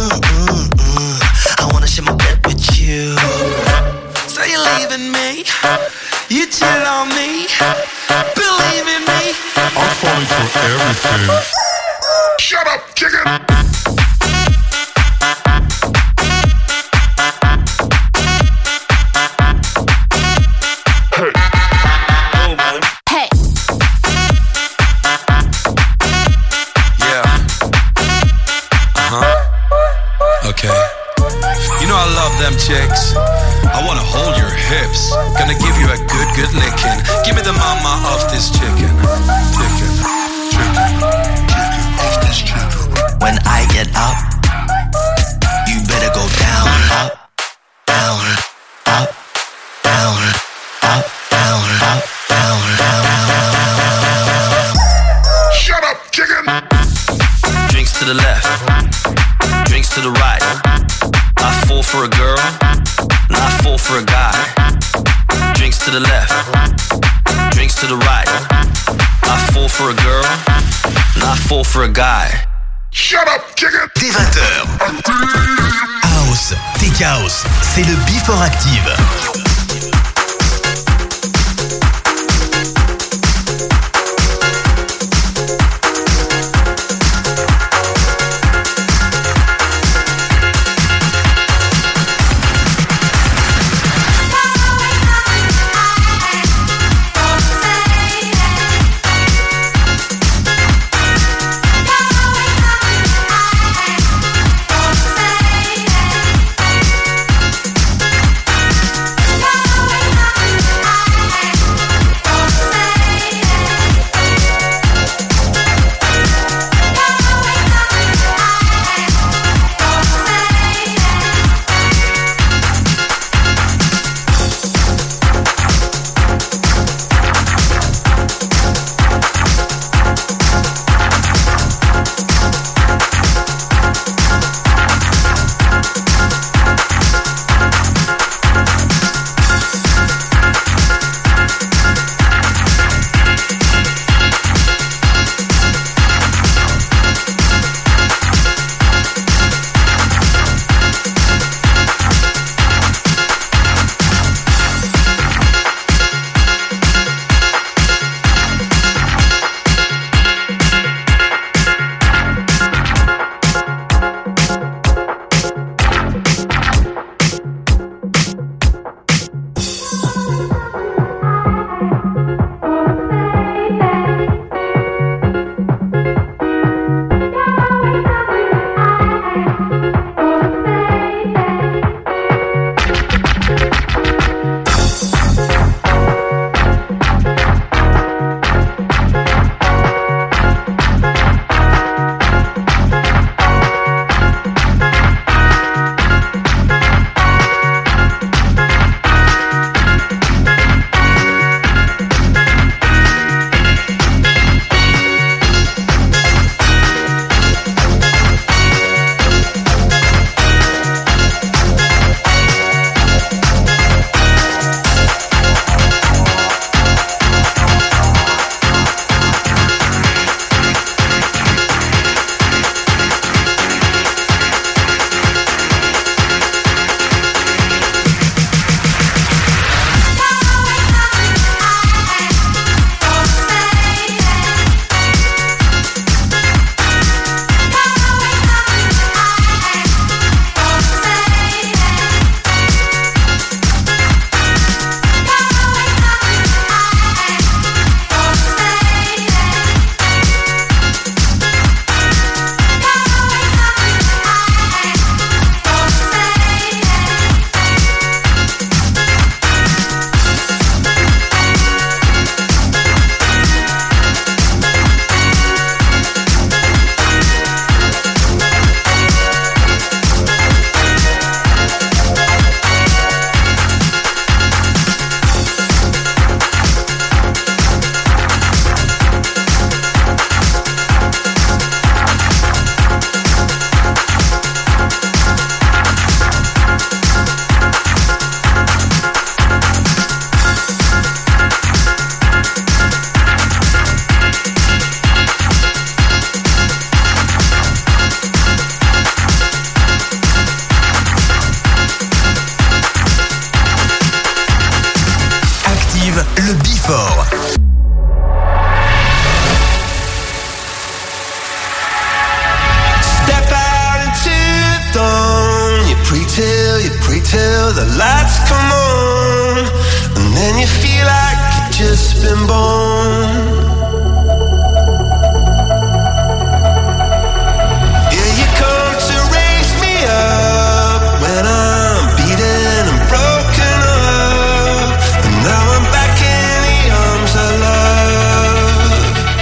I wanna share my bed with you. So you're leaving me, you cheat on me. Believe in me, I'm falling for everything. Shut up, chicken! Chicks, I wanna hold your hips. Gonna give you a good licking. Give me the mama of this chicken. Chicken of this chicken. When I get up, you better go down, up, down, up, down, up, down, up, down, down. Shut up, chicken! Drinks to the left, drinks to the right. I fall for a girl, and I fall for a guy. Drinks to the left, drinks to the right. I fall for a girl, and I fall for a guy. Shut up, chicken! Dès 20h. House, Tech House, c'est le Before Active. and bone. Yeah, you come to raise me up when I'm beaten and broken up, and now I'm back in the arms of love.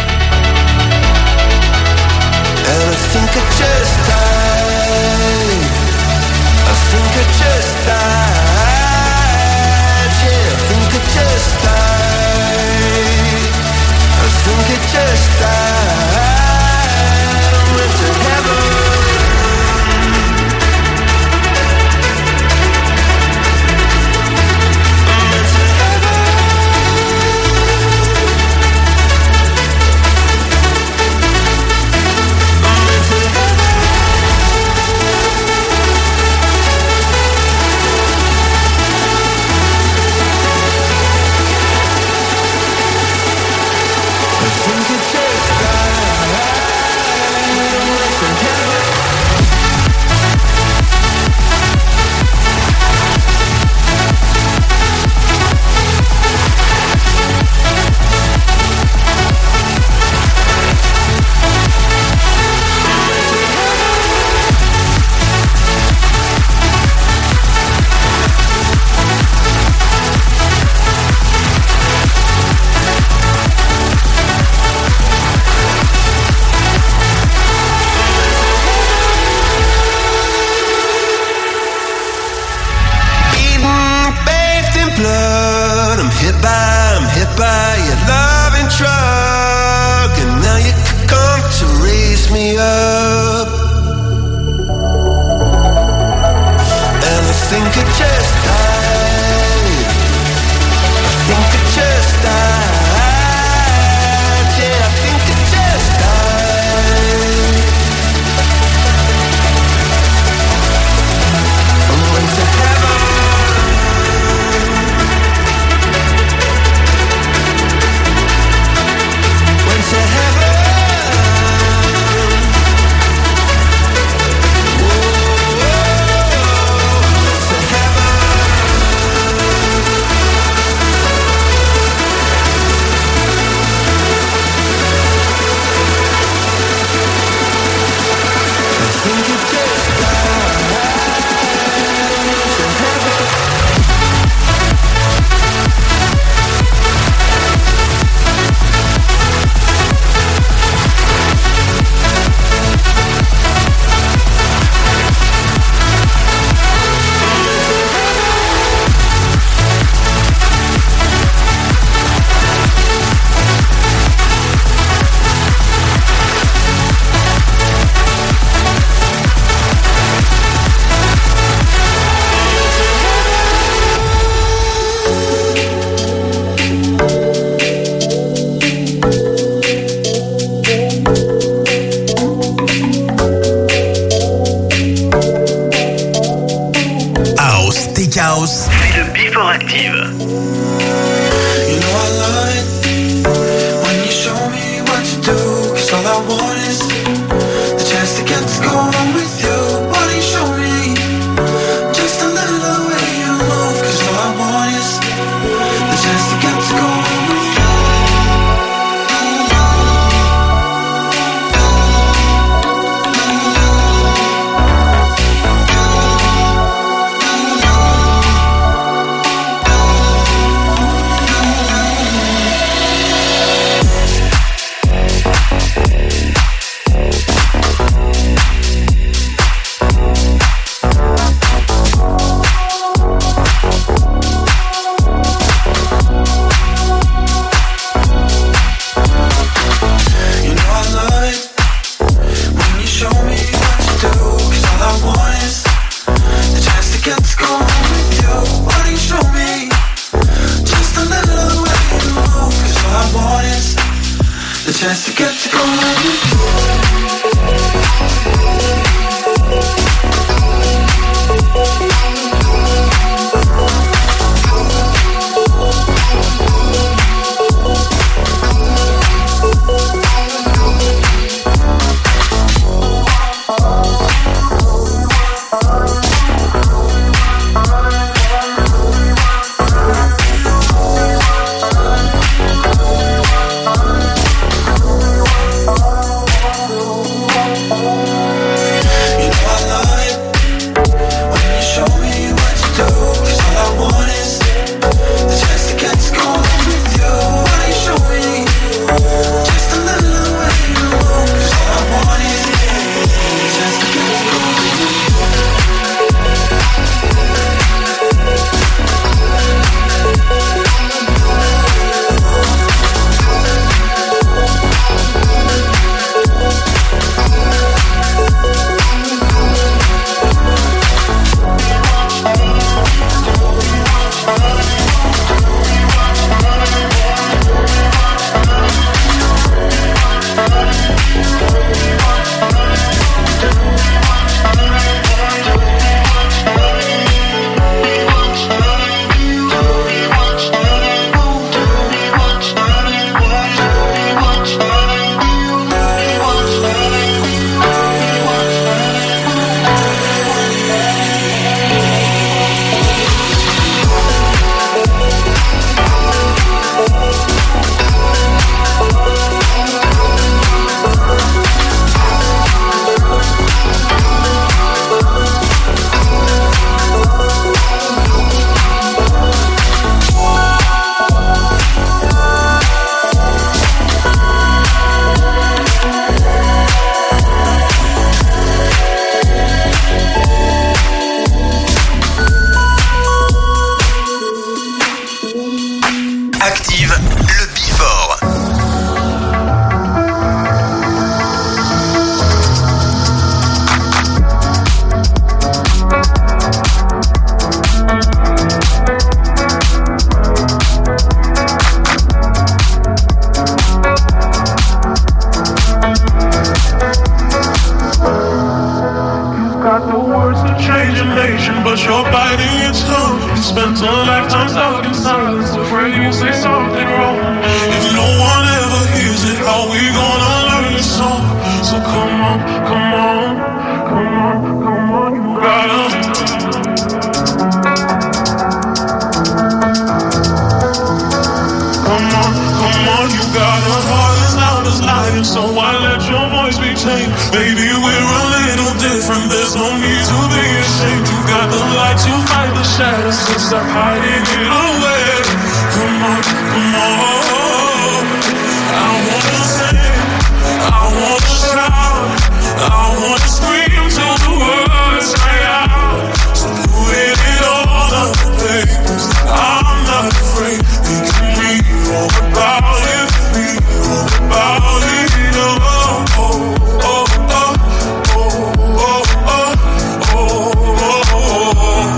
And I think I just died. I think I just died. Yeah, I think I just died. I think I just died. I went to heaven. I'm hit by your loving drug, and now you come to raise me up. And I think I just died. I think I just died. Yeah, I think I just died. I went to heaven. To heaven. House. C'est le Before Active. You know I love it when you show me what you do, 'cause all I want is the chance to get to go on with you. Why don't you show me just a little way you move, 'cause all I want is the chance to get to go on with you. Chance to get to go with you. Come on, you got a heart as loud as lion, so I let your voice be changed. Baby, we're a little different, there's no need to be ashamed. You got the light to fight the shadows, so stop hiding it away. Come on, come on. I wanna sing, I wanna shout, I wanna scream till the words cry out. So put it all on the papers, I'm not afraid. We can be all about it, be all about it. Oh, oh, oh, oh, oh, oh, oh, oh, oh.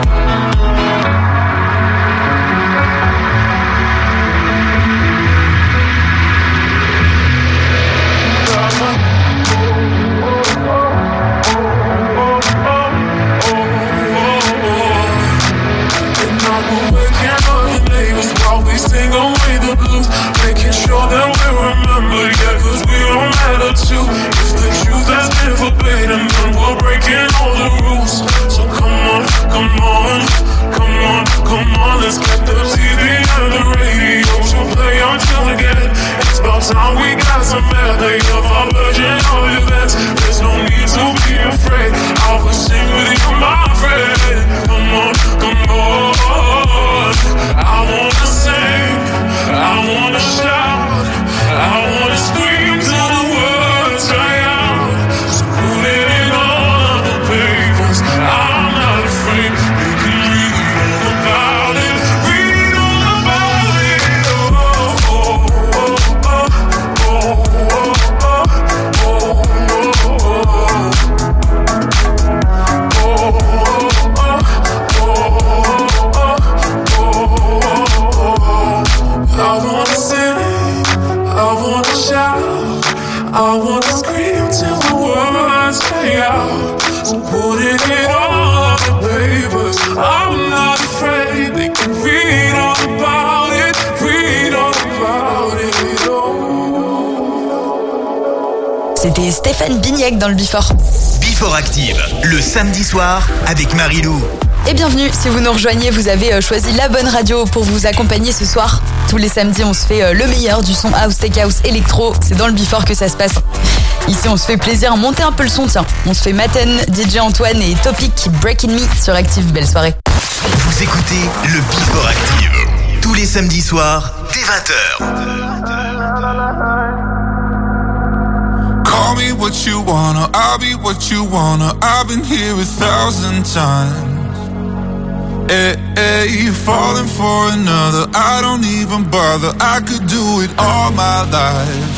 Sing away the blues, making sure that we remember, yeah, cause we don't matter too. If the truth has been forbidden, then we're breaking all the rules. So come on, come on, come on, come on, let's get the TV and the radio to play until again. It's about time we got some medley of our version of events. There's no need to be afraid, I will sing with you, my friend. Come on, come on, I wanna sing, I wanna shout, I wanna scream till the words cry out. So put it in all of the papers, I'm not afraid. You can read all about it, read all about it. Oh, oh, oh, oh, oh, oh, oh, oh, I wanna sing, I wanna shout, I wanna scream till the words cry out. So put it in all of the papers, I'm not afraid. They can read all about it, read all about it. Oh. C'était Stéphane Bignac dans le Before. Before Active, le samedi soir avec Marilou. Et bienvenue, si vous nous rejoignez, vous avez choisi la bonne radio pour vous accompagner ce soir. Tous les samedis, on se fait le meilleur du son house, tech house, électro. C'est dans le Before que ça se passe. Ici, on se fait plaisir, monter un peu le son, tiens. On se fait Maten, DJ Antoine et Topic Breaking Me sur Active. Belle soirée. Vous écoutez le Before Active, tous les samedis soirs, dès 20h. Call me what you wanna, I'll be what you wanna. I've been here 1,000 times. Hey, hey, you falling for another, I don't even bother. I could do it all my life.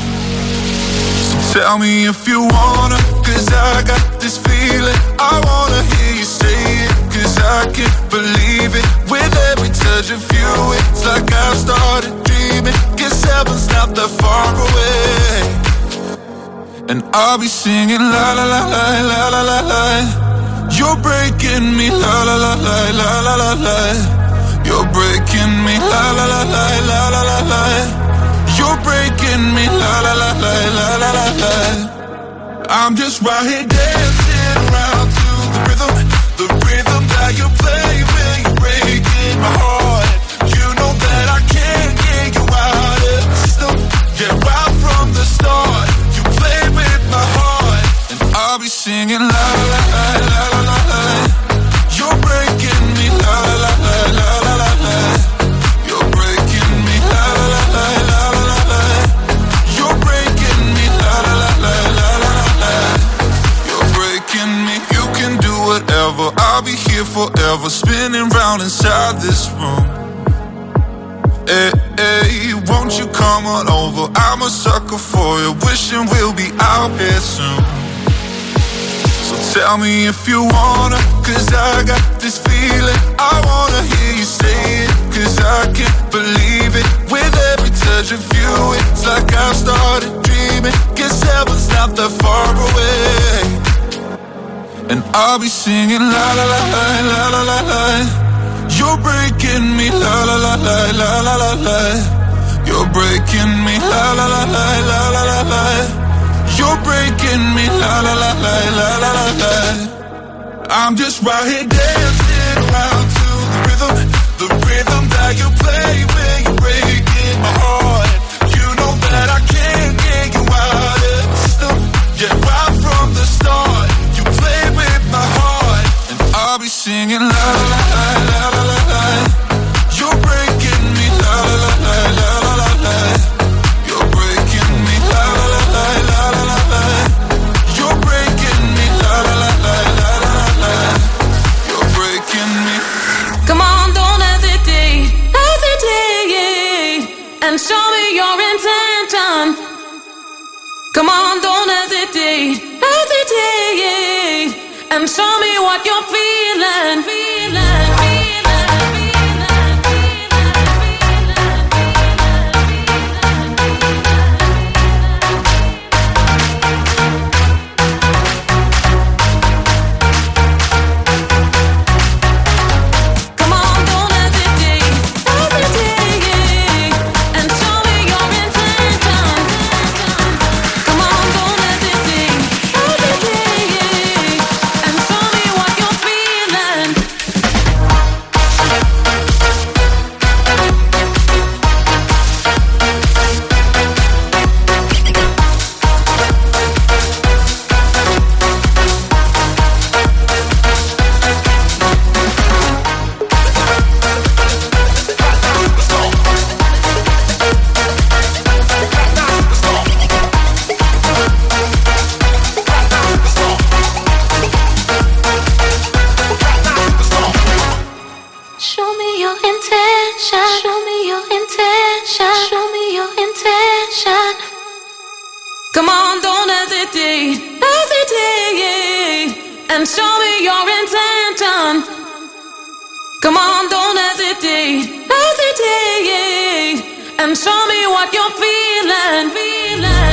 So tell me if you wanna, cause I got this feeling. I wanna hear you say it, cause I can't believe it. With every touch of you, it's like I've started dreaming. Guess heaven's not that far away. And I'll be singing la la la la la la la la. You're breaking me, la la la la la la la la. You're breaking me, la la la la la la la la. You're breaking me, la la la la la la la la. I'm just right here dancing around to the rhythm that you play when you're breaking my heart. You know that I can't get you out of the system. Yeah, right from the start, you play with my heart, and I'll be singing la la la la la la la. You're breaking me, la la la la la la la. You're breaking me, la la la la la la la. You're breaking me, la la la la la la la. You're breaking me. You can do whatever, I'll be here forever, spinning round inside this room. Hey, hey, won't you come on over? I'm a sucker for you, wishing we'll be out here soon. So tell me if you wanna, cause I got this feeling. I wanna hear you say it, cause I can't believe it. With every touch of you, it's like I've started dreaming. Guess heaven's not that far away. And I'll be singing la la la la la la la la. You're breaking me, la la la la la la la la. You're breaking me, la la la la la la la la. You're breaking me, la la la la la la la la. I'm just right here dancing around to the rhythm that you play when you're breaking my heart. intention. Come on, don't hesitate, hesitate, and show me what you're feeling, feeling. Come on, don't hesitate, hesitate, and show me your intention. Come on, don't hesitate, hesitate, and show me what you're feeling, feeling.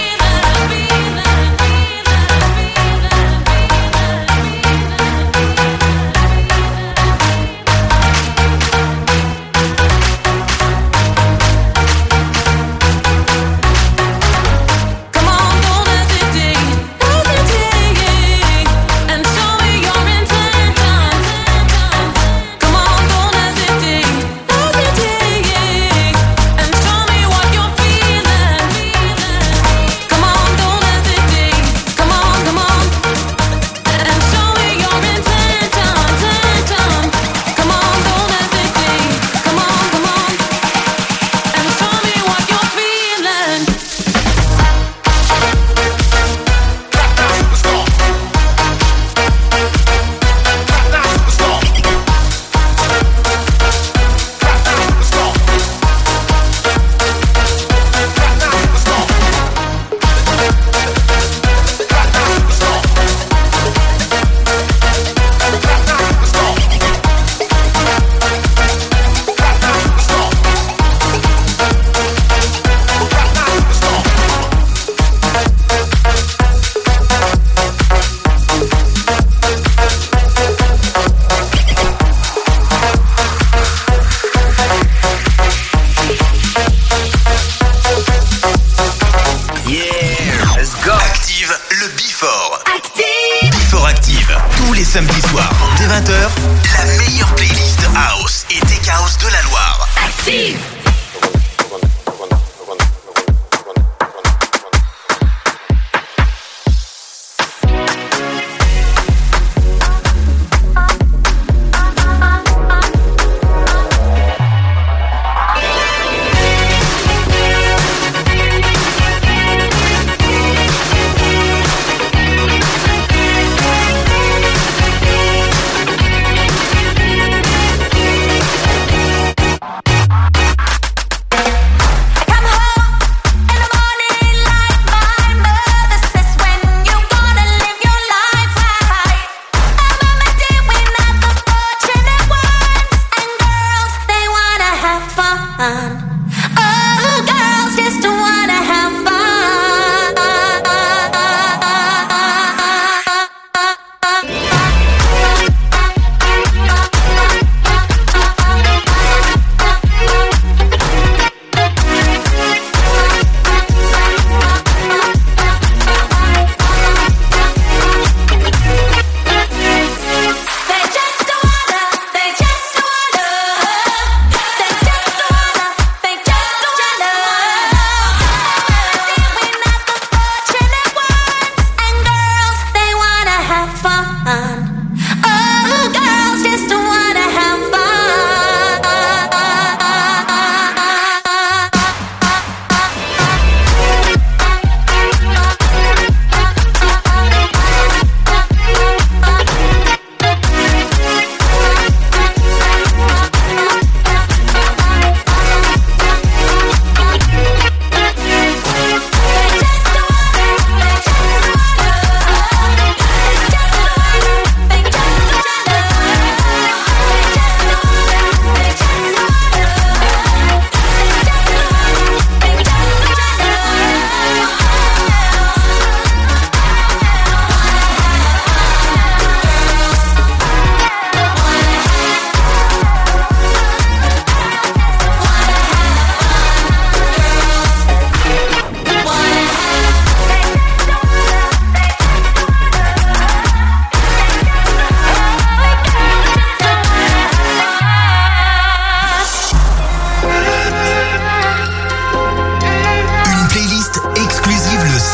Samedi soir, dès 20h, la meilleure playlist House et Tech House de la Loire. Active!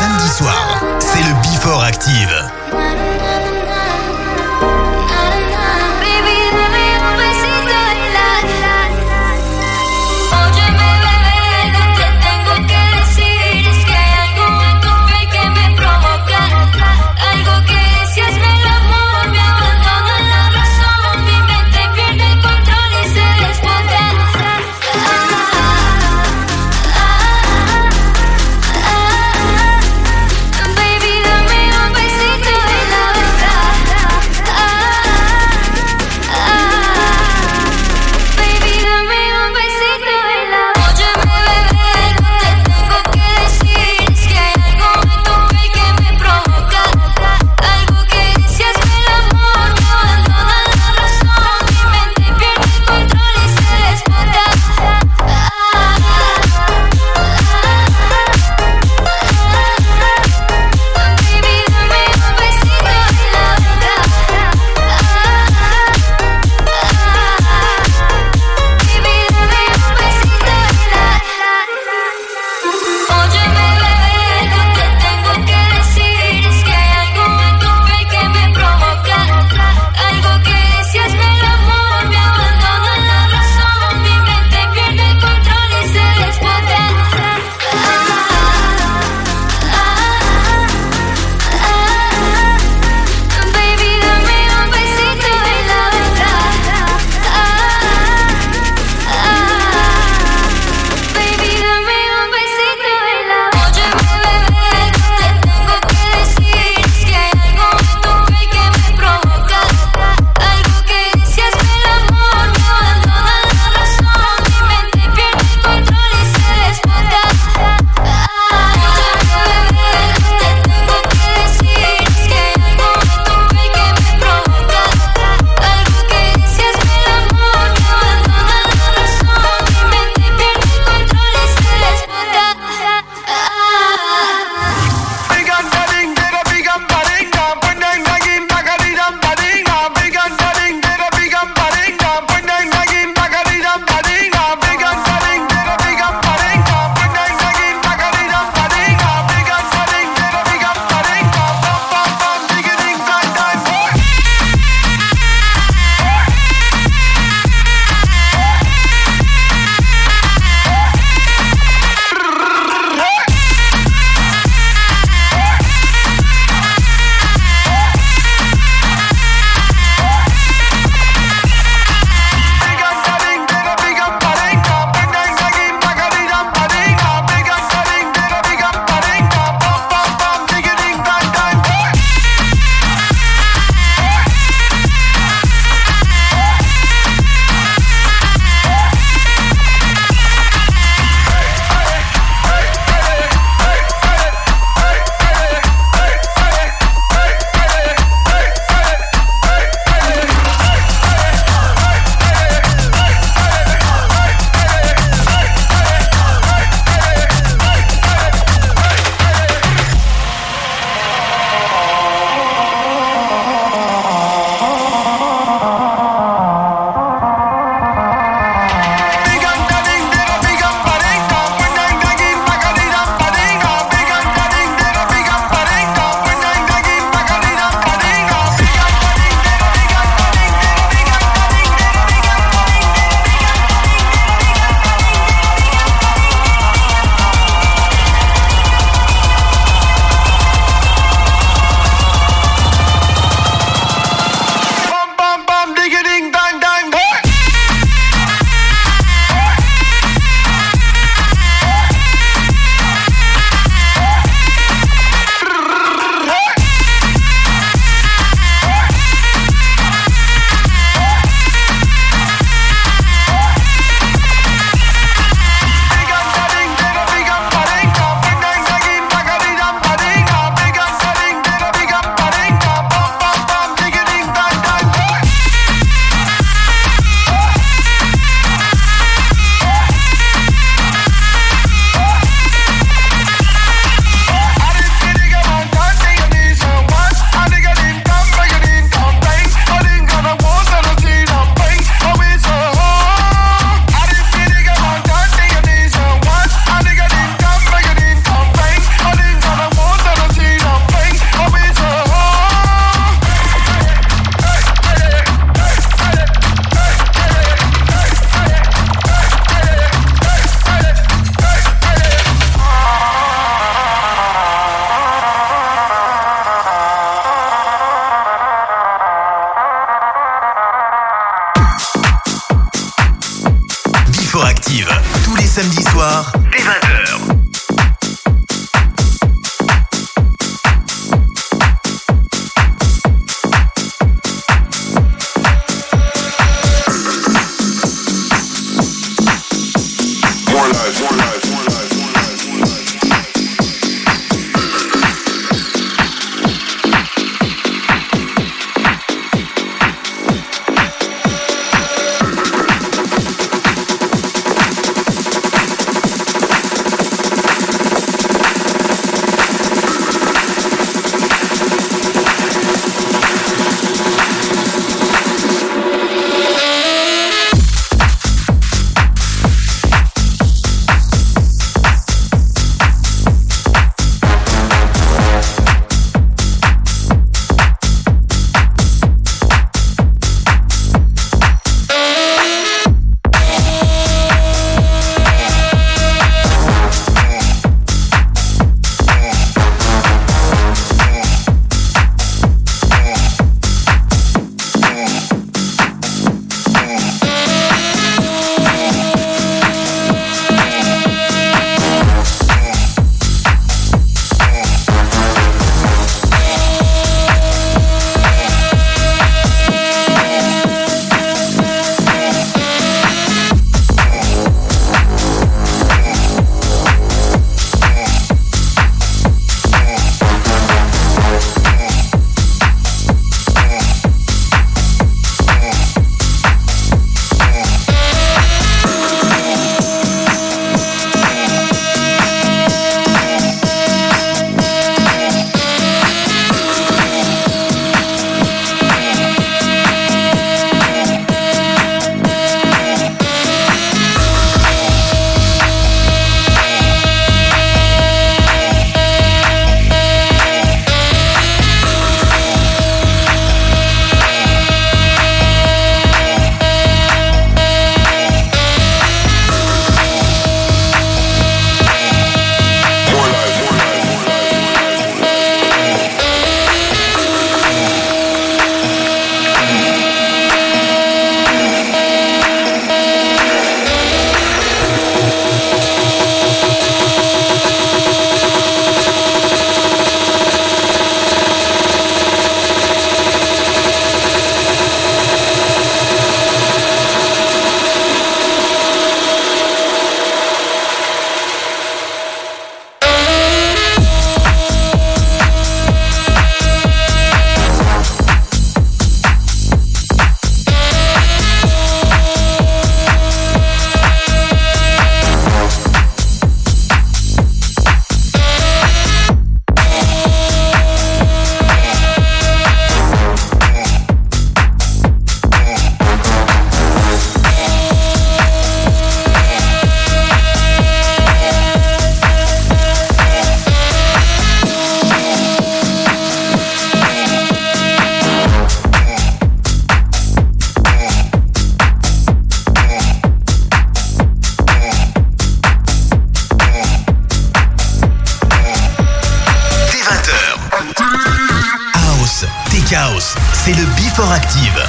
samedi soir, c'est le Before Active. Baby, dame un besito. c'est le Before Active.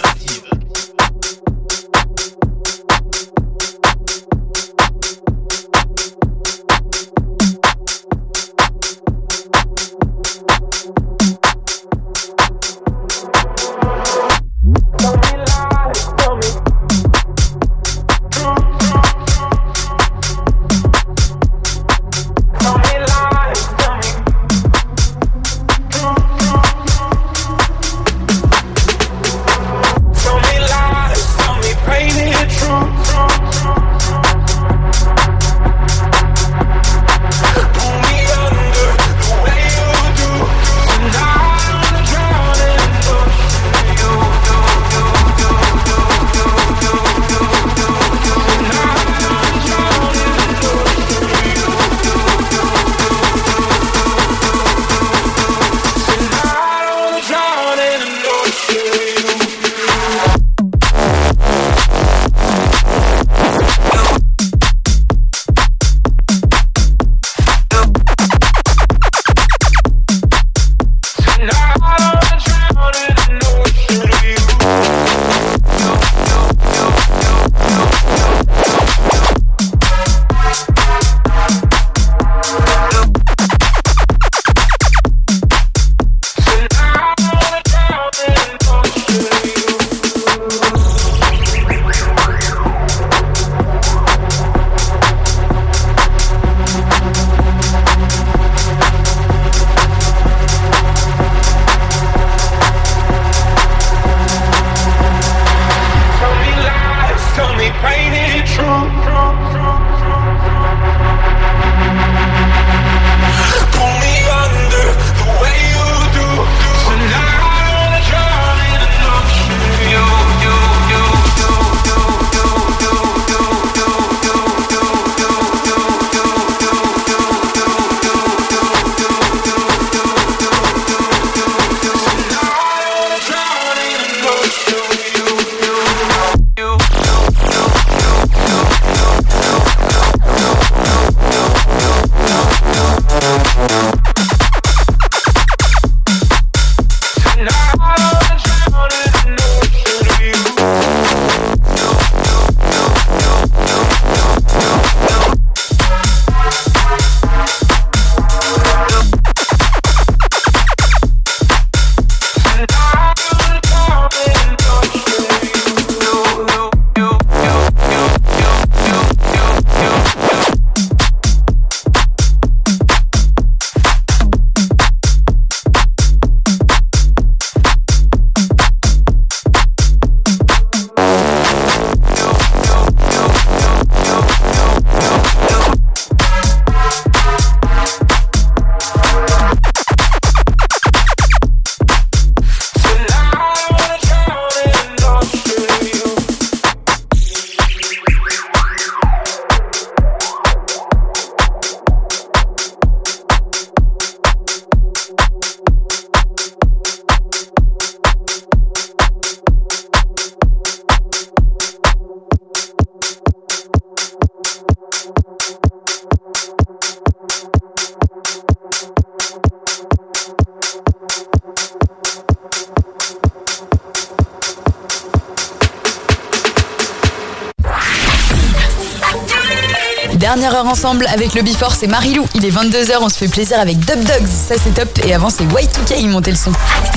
Dernière heure ensemble avec le Before, c'est Marilou. Il est 22h, on se fait plaisir avec Dub Dogs, ça c'est top. Et avant c'est Y2K, il montait le son.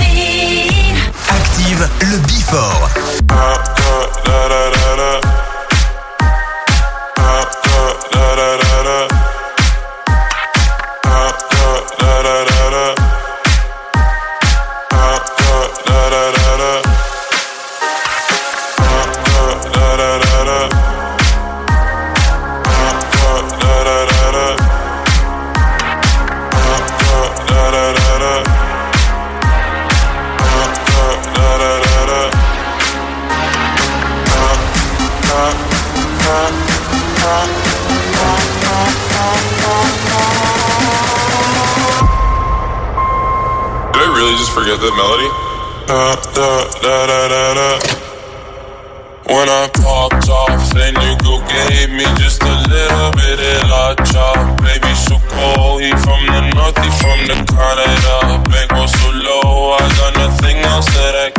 Active le Before. Forget the melody. When I popped off, that nigga gave me just a little bit of la chop. Baby, so cold, he from the north, he from the Canada. Bank was so low, I got nothing else that I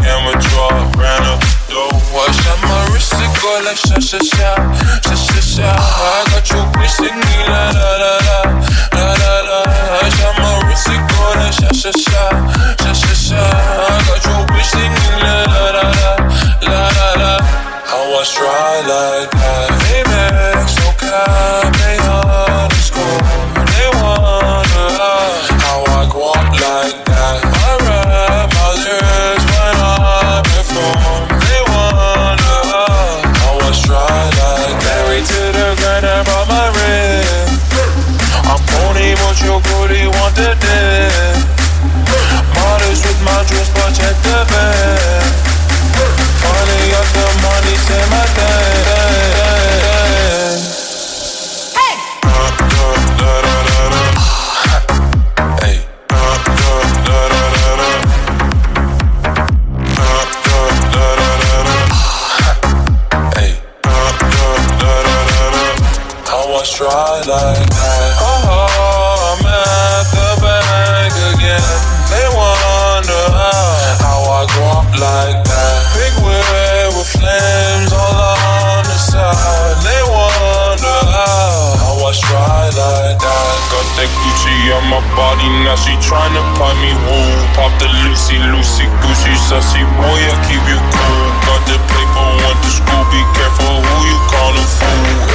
your booty want to dip. Modest with my dress, but check the bag. Finally got the money, say my thing. Hey! Hey. How I try like that. Oh, I'm at the bank again. They wonder how I go up like that. Big wheel with flames all on the side. They wonder how I try like that. Got that Gucci on my body, now she tryna pipe me woo. Pop the Lucy, Gucci, sussy boy, I keep you cool. Got the paper, went to school, be careful who you callin' fool.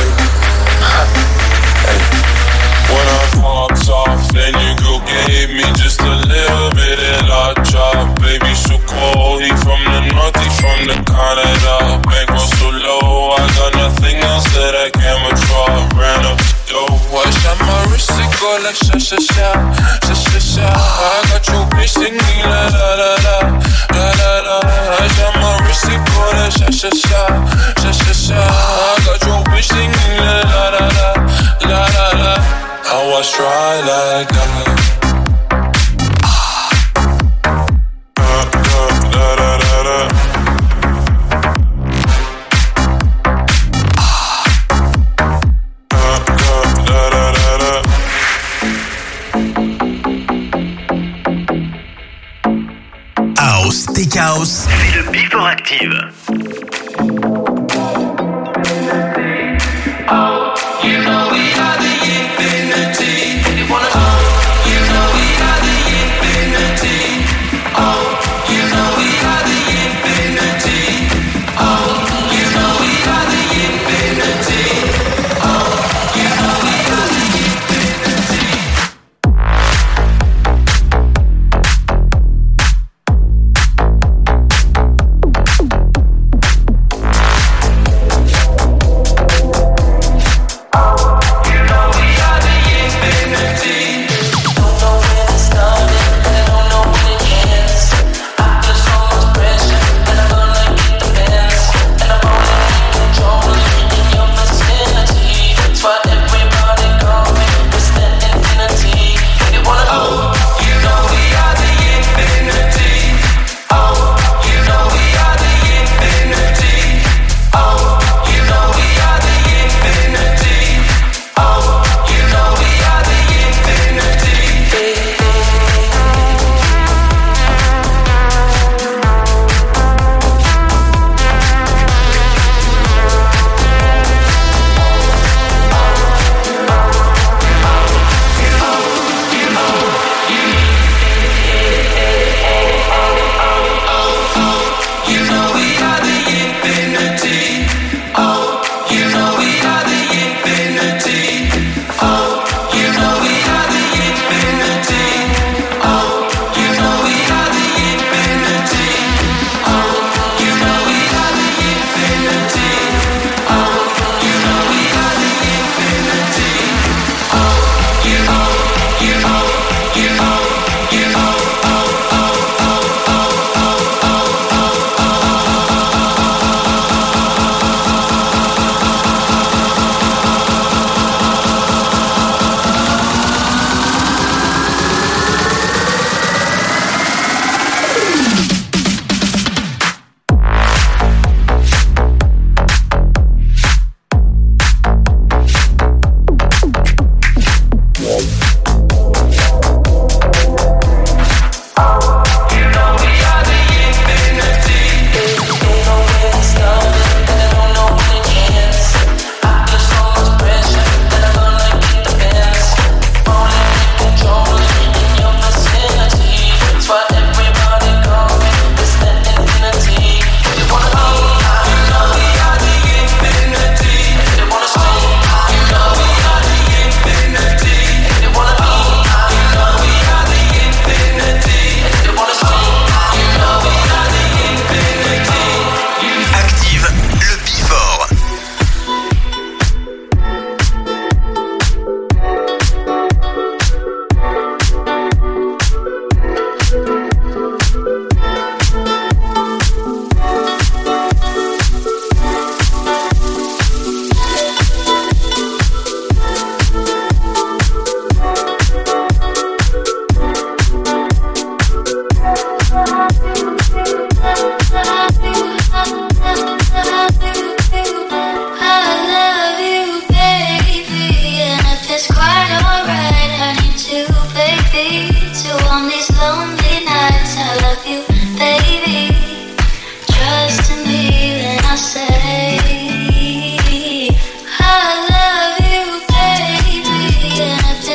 Hey. When I popped off, then your girl gave me just a little bit of la chop. Baby, so cold, he from the north, he from the Canada. Bankroll so low, I got nothing else that I can withdraw. Ran up the dough, I shot my wrist, it go like sha sha sha, sha sha sha. I got your bitch singing la la la la, la la la. I shot my wrist, it go like sha sha sha, sha sha sha. I got your bitch singing la la la la, la la la. How I try like that. House, Tech House, c'est le Before Active.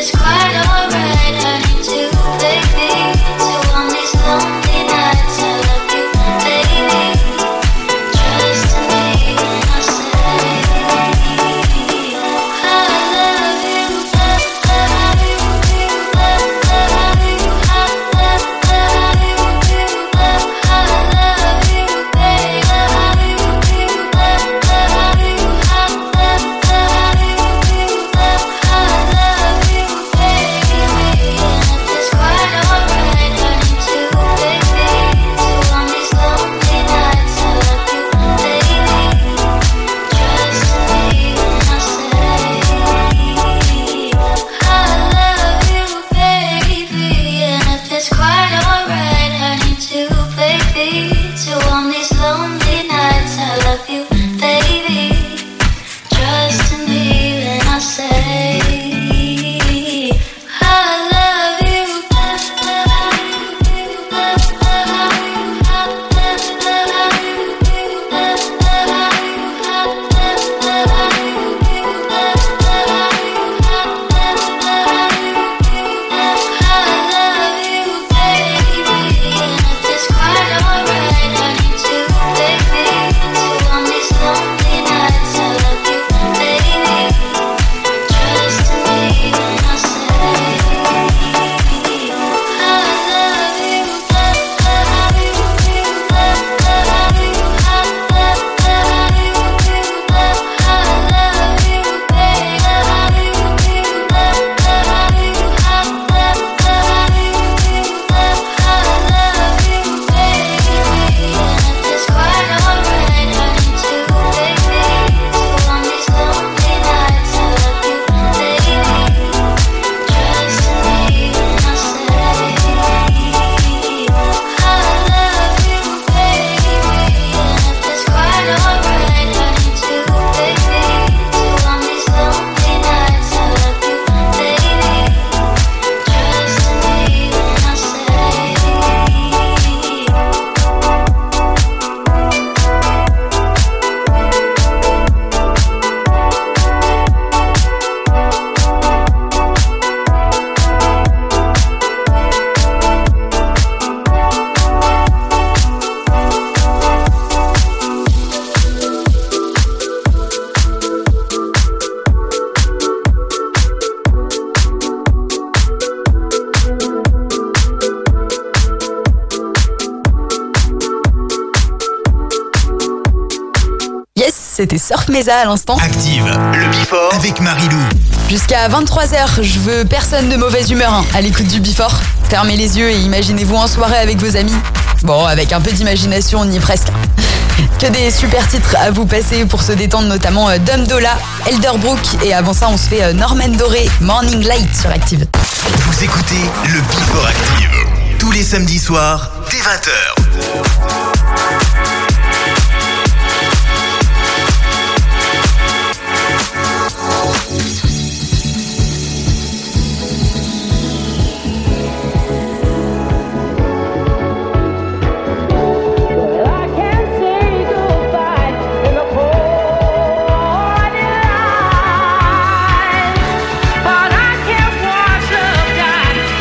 C'était Surf Mesa à l'instant. Active, le Before avec Marilou. Jusqu'à 23h, je veux personne de mauvaise humeur à l'écoute du Before. Fermez les yeux et imaginez-vous en soirée avec vos amis. Bon, avec un peu d'imagination, on y est presque. Que des super titres à vous passer pour se détendre, notamment Dum Dolla, Elderbrook, et avant ça on se fait Norman Doré, Morning Light sur Active. Vous écoutez le Before Active tous les samedis soirs dès 20h.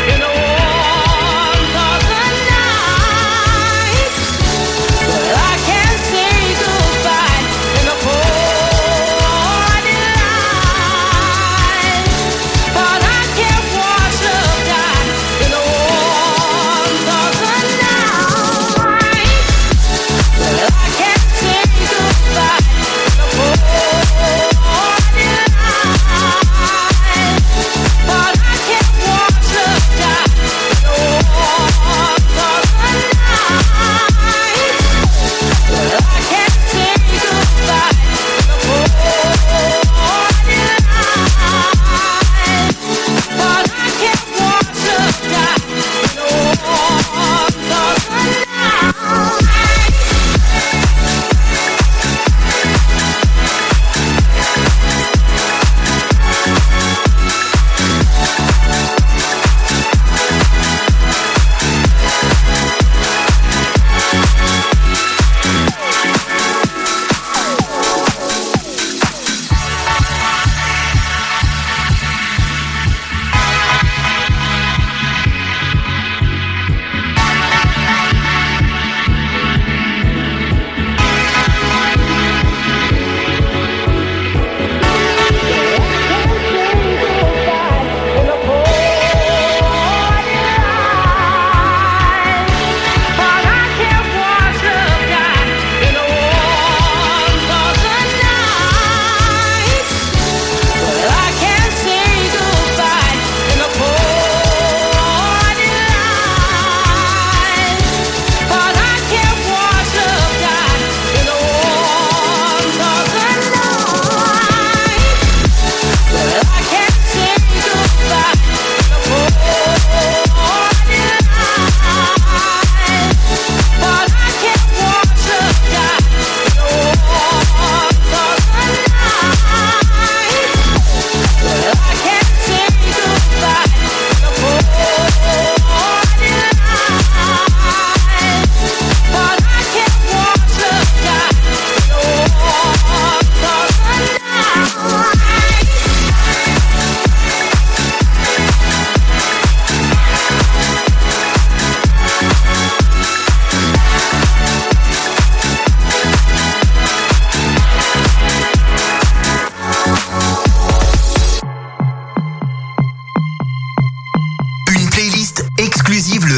I can't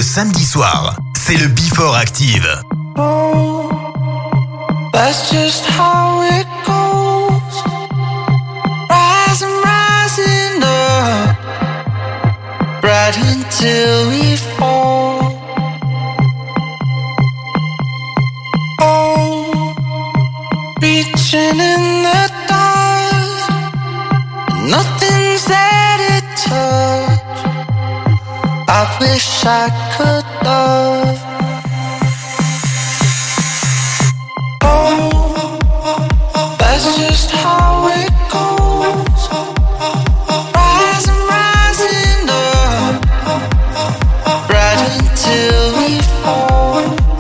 samedi soir, c'est le Before Active. Oh, that's just how it goes. Rising up, right until we fall. Oh, reaching in the dark, nothing's there to touch. I wish I could love. Oh, that's just how it goes. Rising up, right until we fall.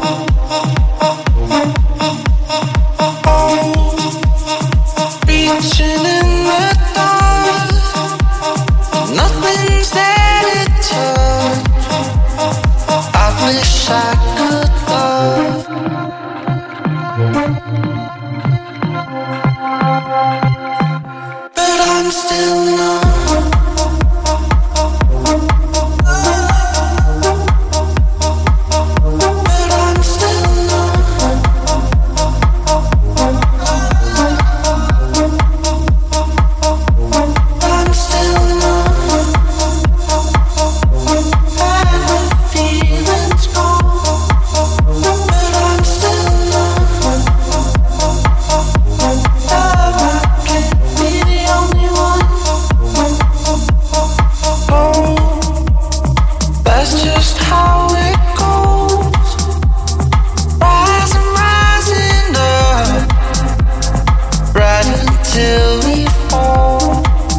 Oh, reaching in the dark, nothing's there to touch. I wish I could love. But I'm still numb. But I'm still numb. I'm still numb. And the feeling's gone. But I'm still numb. Love, I can't be the only one. Oh, that's just how it goes. Rising up, right until we fall.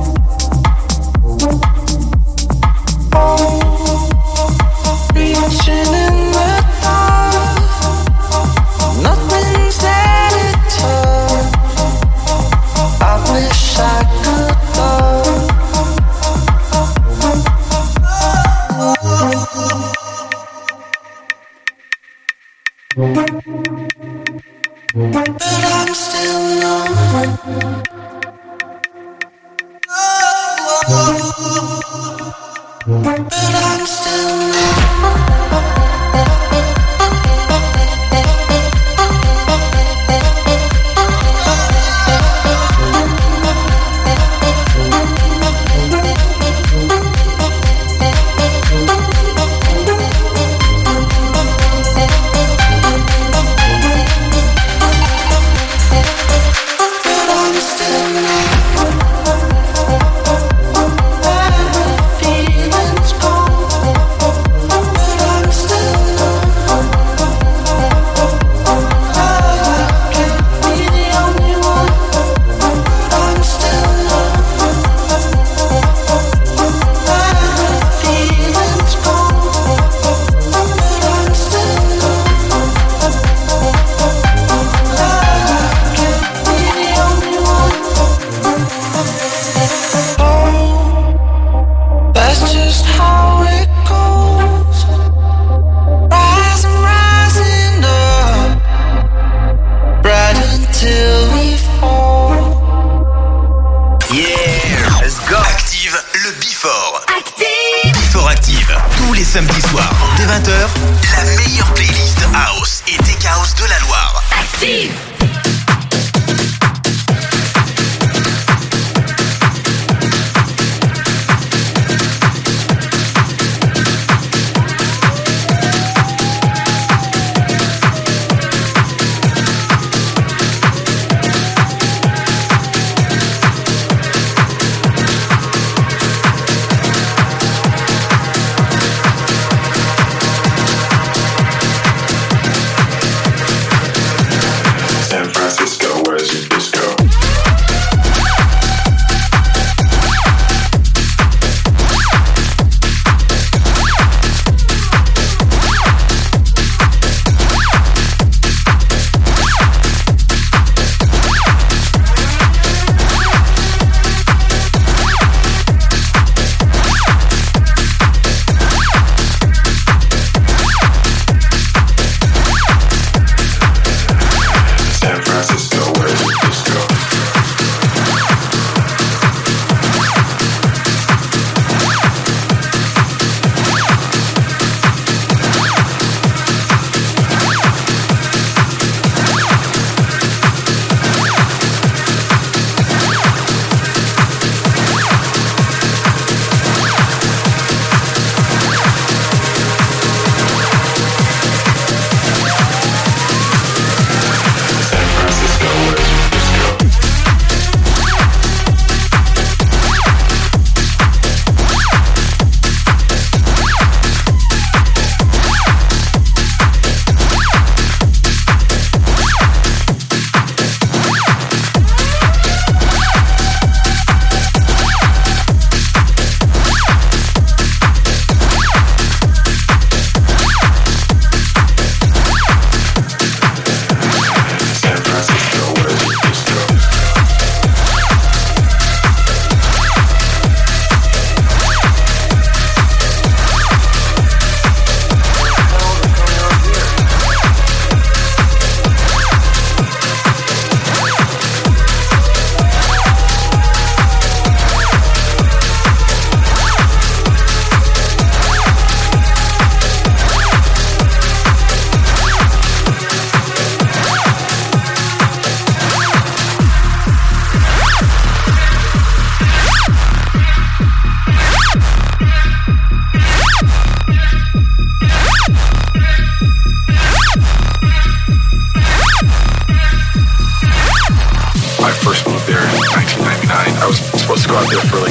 Oh, reaching in the dark, nothing's there to touch. I wish I could love. But I'm still numb. But I'm still feelings gone. But I'm still samedis soirs, dès 20h, la meilleure playlist House et Tech House de la Loire. Active!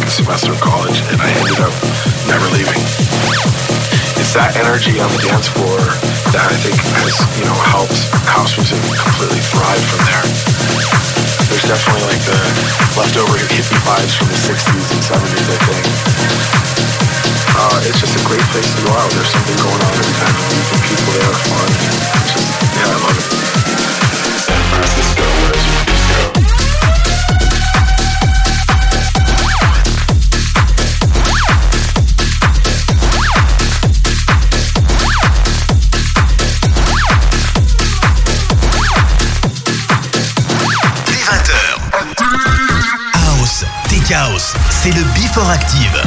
second semester of college, and I ended up never leaving. It's that energy on the dance floor that I think has, helped house music completely thrive from there. There's definitely like the leftover hippie vibes from the 60s and 70s, I think. It's just a great place to go out. There's something going on every time you meet the people there are fun. It's just, I love it. San Francisco, where's your disco? House, c'est le Before Active.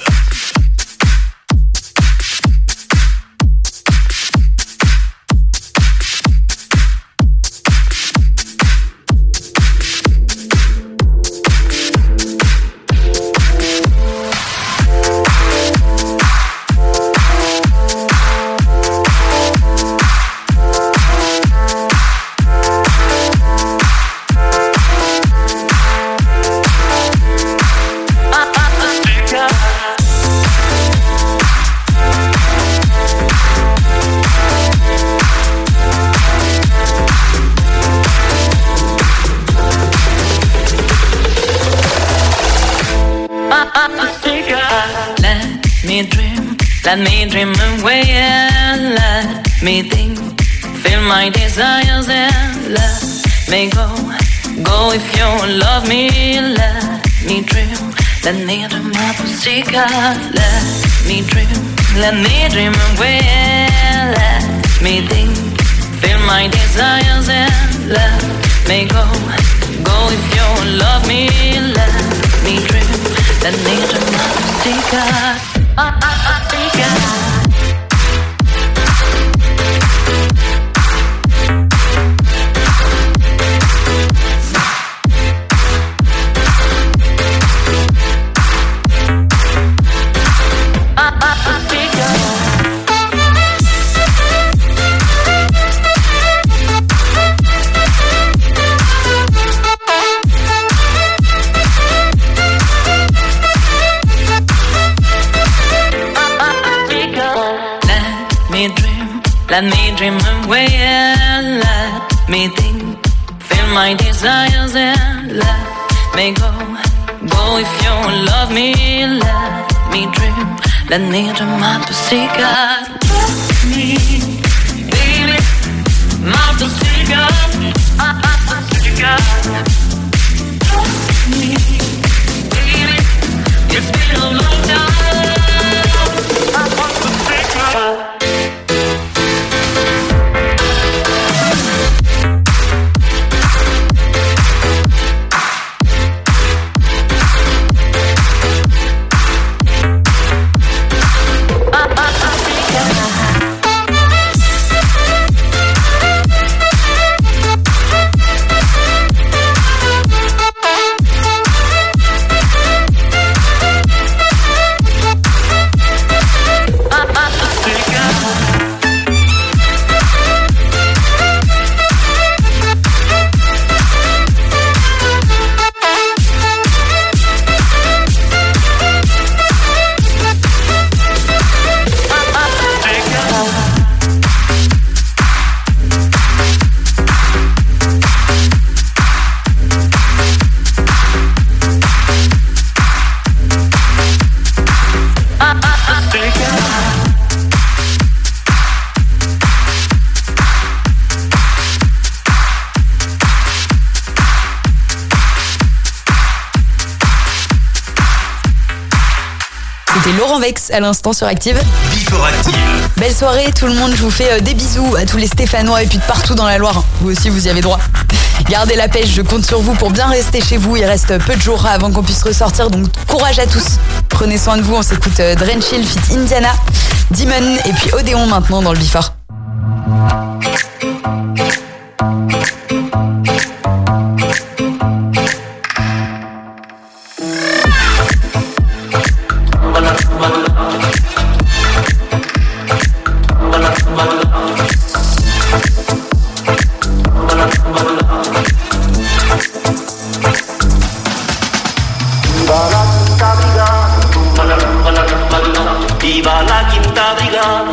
Let me dream away and let me think. Feel my desires and let me go. Go if you love me, let me dream. Let me dream my pussycat. Let me dream away and let me think. Feel my desires and let me go. Go if you love me, let me dream. Let me dream my pussycat. Let me dream away and let me think. Feel my desires and let me go. Go if you love me, let me dream. Let me dream my pussycat. Trust me, baby, my pussycat. Trust me, baby, it's been a long time. I want pussycat. C'était Laurent Vex à l'instant sur Active. Before Active. Belle soirée tout le monde, je vous fais des bisous à tous les Stéphanois et puis de partout dans la Loire. Vous aussi vous y avez droit. Gardez la pêche, je compte sur vous pour bien rester chez vous. Il reste peu de jours avant qu'on puisse ressortir, donc courage à tous. Prenez soin de vous, on s'écoute Drenchill feat Indiana, Demon et puis Odéon maintenant dans le Before. Barack, abrigada,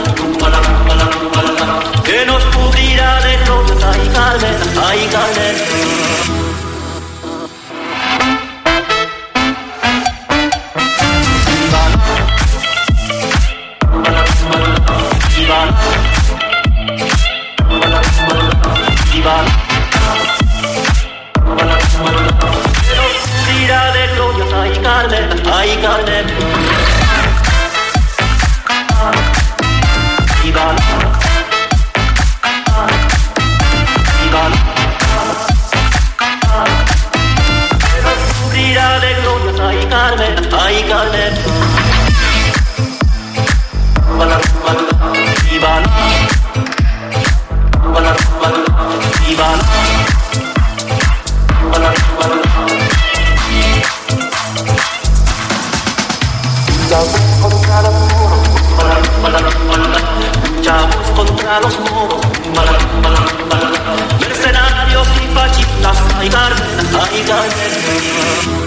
que nos cubrirá de glorias. Ay, Carmen, ay, Carmen. Tira de glorias, ay Carmen, ay Carmen. Iván, tira de glorias, ay Carmen, ay Carmen. Iván, Iván. Luchamos contra los moros, mercenarios y fascistas, ay Carmen, ay Carmen.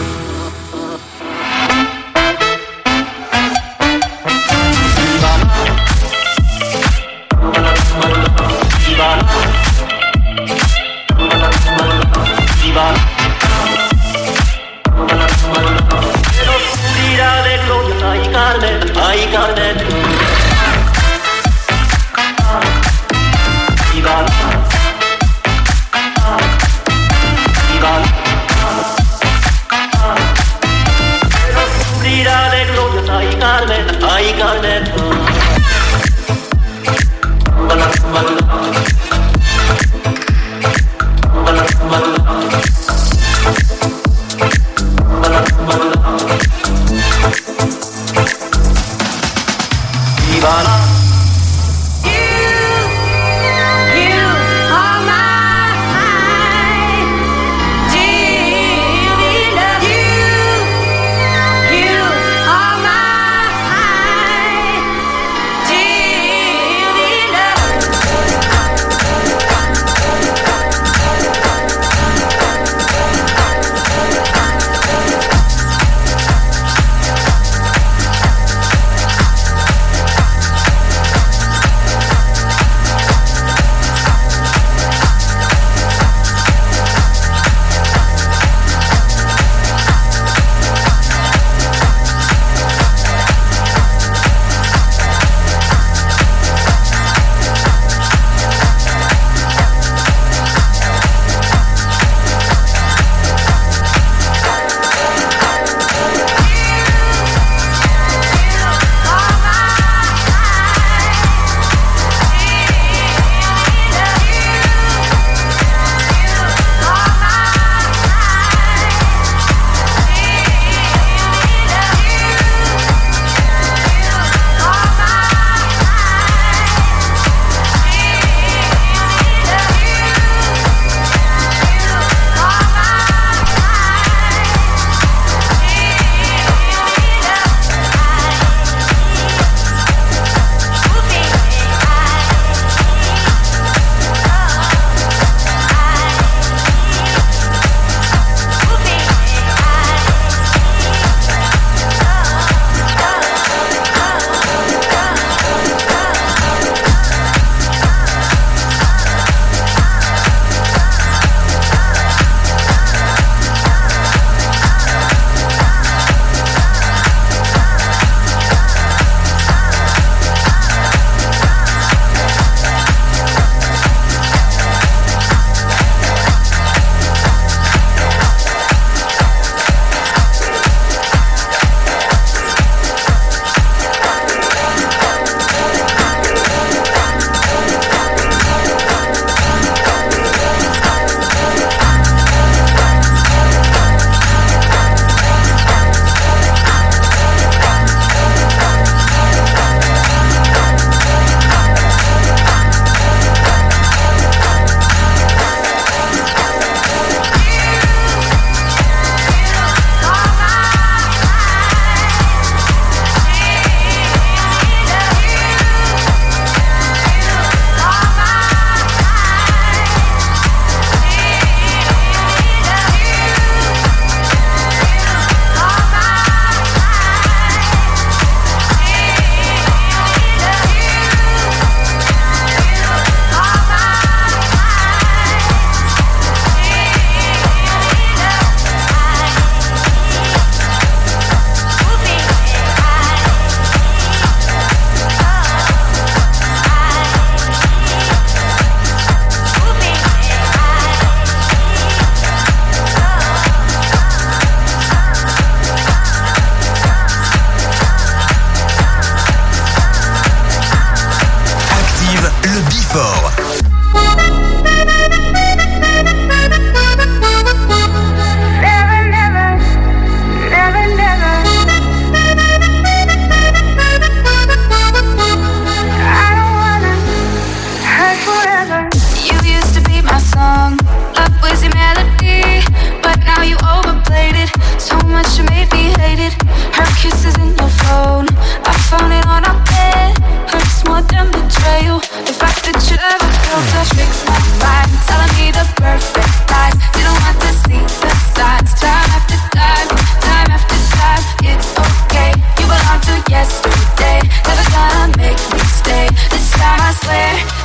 Tira de gloria, ay Carmen, ay Carmen. Iván, Iván. Tira de gloria, ay Carmen, ay Carmen. Ivana.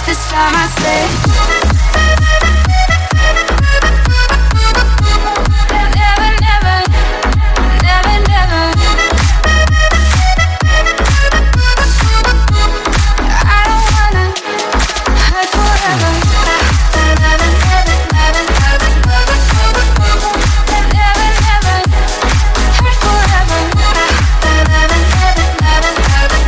this time I say. Never, never, never, never. I don't wanna hurt forever. Never, never, never, never, never, never, never hurt forever. Never, never, never, never, never,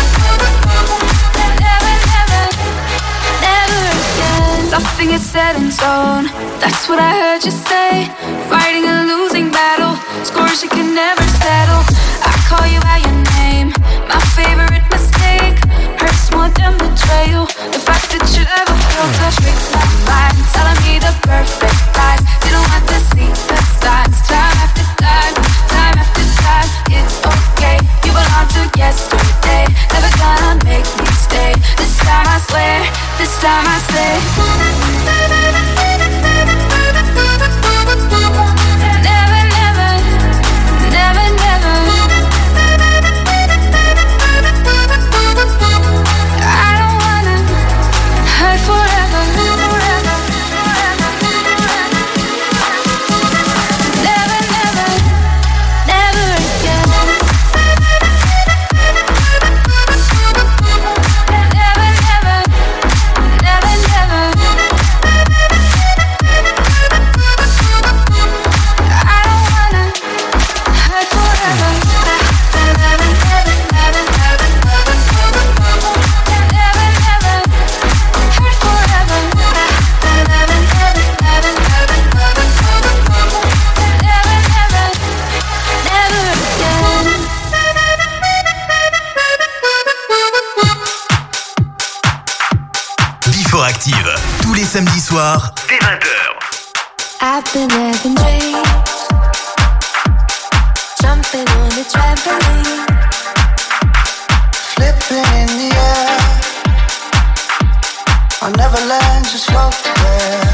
never again. Nothing is set in stone. That's what I heard you say. Fighting a losing battle, scores you can never settle. I call you by your name, my favorite mistake. Hurts more than betrayal. The fact that you ever felt to trick my mind, telling me the perfect lies. Didn't want to see the signs. Time after time, time after time. It's okay, you belong to yesterday. Never gonna make me stay. This time I swear, this time I say. Never, never, never, never. I don't wanna hurt forever, forever, never, never, never again. Never, never, never, never. I don't wanna hurt forever. Never, never, never, never, never, never, never hurt forever. Never, never, never, never, never, never again. Before Active, tous les samedis soirs, dès 20h. I've been having dreams, jumping on the trampoline, Flipping in the air, I never land, just float there.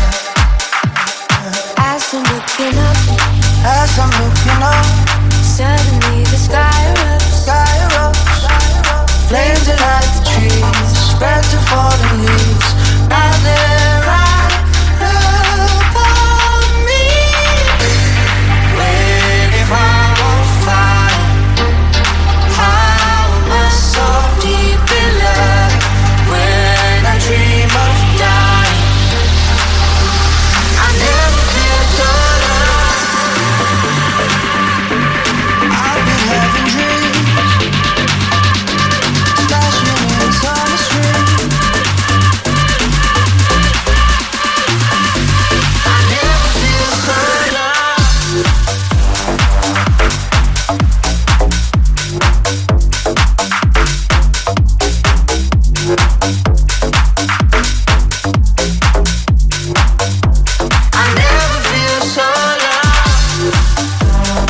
as I'm looking up, As I'm looking up, suddenly the sky erupts. sky erupts, flames that light the trees, spread to fallen leaves. Now they're right above me. Waiting for a fire. How am I so deep in love when I dream of dying? I never feel so alive. I've been having dreams, splashing in summer street. I never feel so alive. I never feel so alive.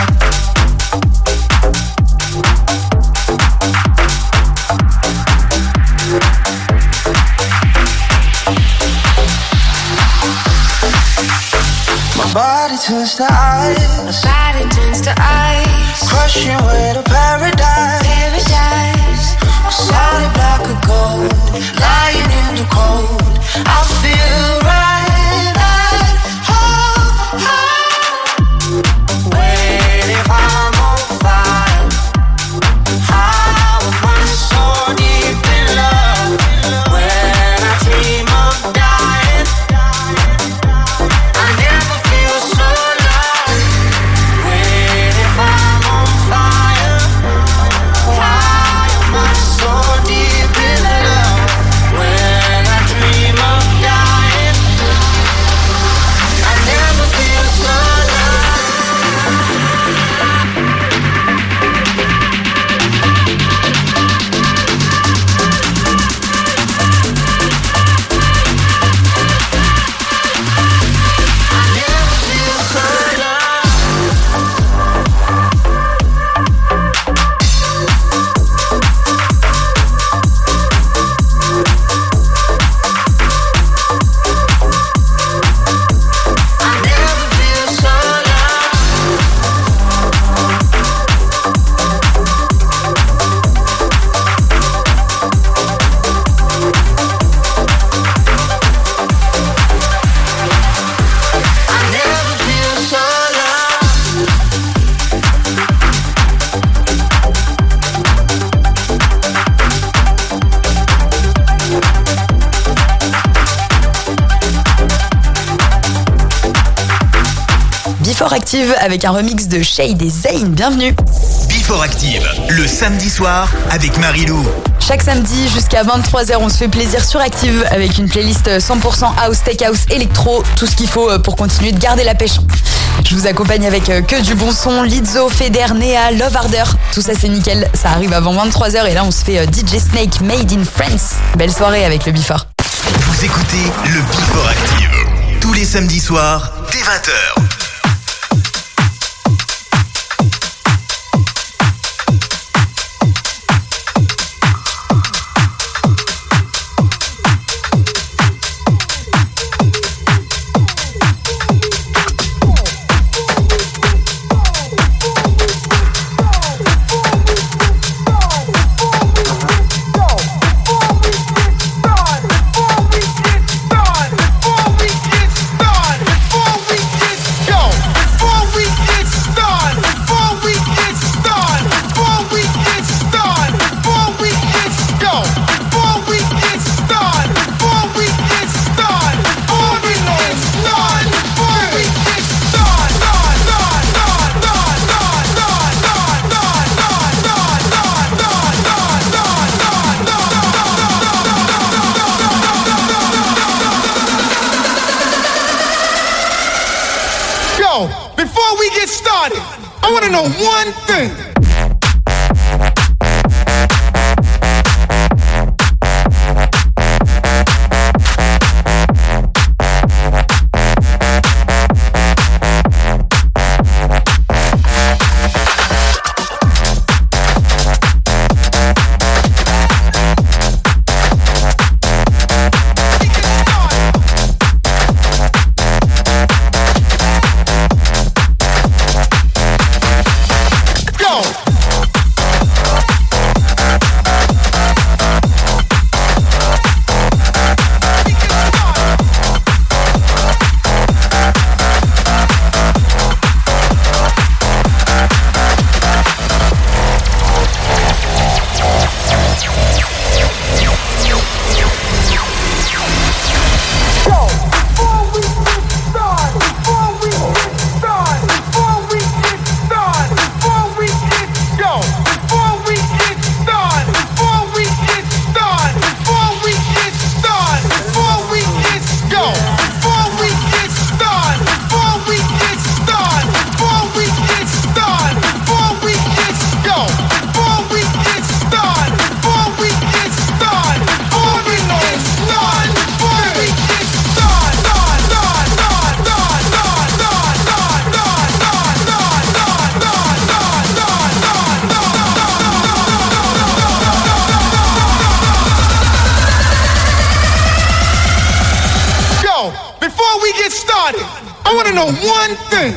My body turns to ice, Body turns to ice, crushing way to paradise. paradise. Solid block of gold, lying in the cold. I feel right at home, waiting if I'm on fire. How am I so deep in love when I dream of dying? I never feel so alive, waiting if I'm on fire. How am I so deep? Before Active avec un remix de Shade et Zayn. Bienvenue. Before Active, le samedi soir avec Marilou. Chaque samedi jusqu'à 23h, on se fait plaisir sur Active avec une playlist 100% house, tech house, électro, tout ce qu'il faut pour continuer de garder la pêche. Je vous accompagne avec que du bon son, Lizzo, Feder, Nea, Love Harder. Tout ça c'est nickel, ça arrive avant 23h et là on se fait DJ Snake Made in France. Belle soirée avec le Before. Vous écoutez le Before Active tous les samedis soirs dès 20h. Before we get started, I want to know one thing. I want to know one thing.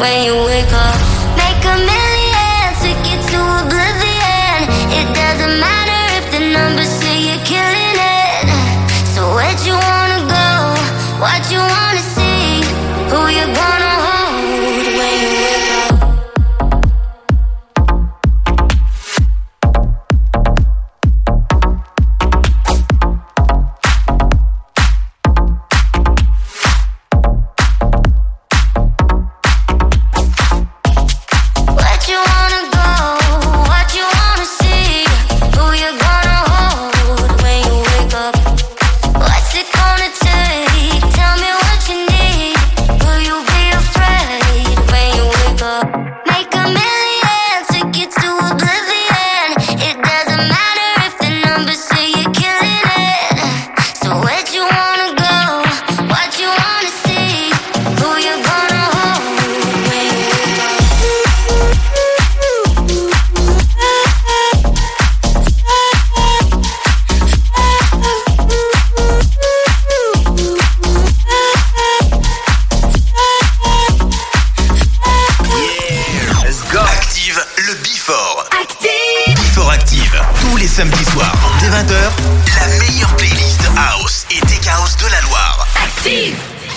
when you wake up. Make a million, take it to oblivion. It doesn't matter if the numbers say you're killing it. So where'd you wanna go? What you wanna see? Who you gonna hold when you wake up? Samedi soir, dès 20h, la meilleure playlist House et Tech House de la Loire. Active!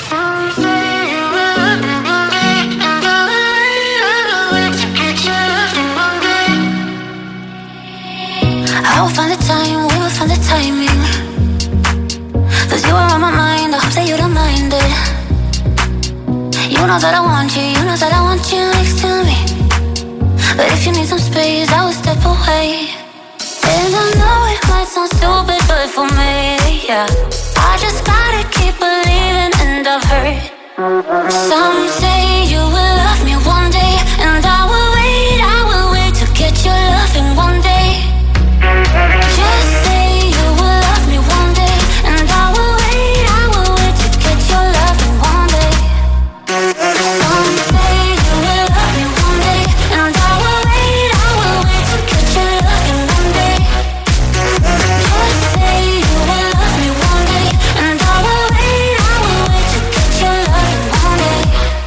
I will find the time, we will find the timing. 'Cause you are on my mind, I hope that you don't mind it. You know that I want you, you know that I want you next to me. But if you need some space, I will step away. And I know it might sound stupid, but for me, yeah, I just gotta keep believing, and I've heard some say you will love me one day, and I will wait to get your loving one day. Just say you will love me one day, and I will wait to get your loving one day. Some say you will love me one day, and I will wait to get your loving one day. Just say you will love me one day, and I will wait to get your loving one day.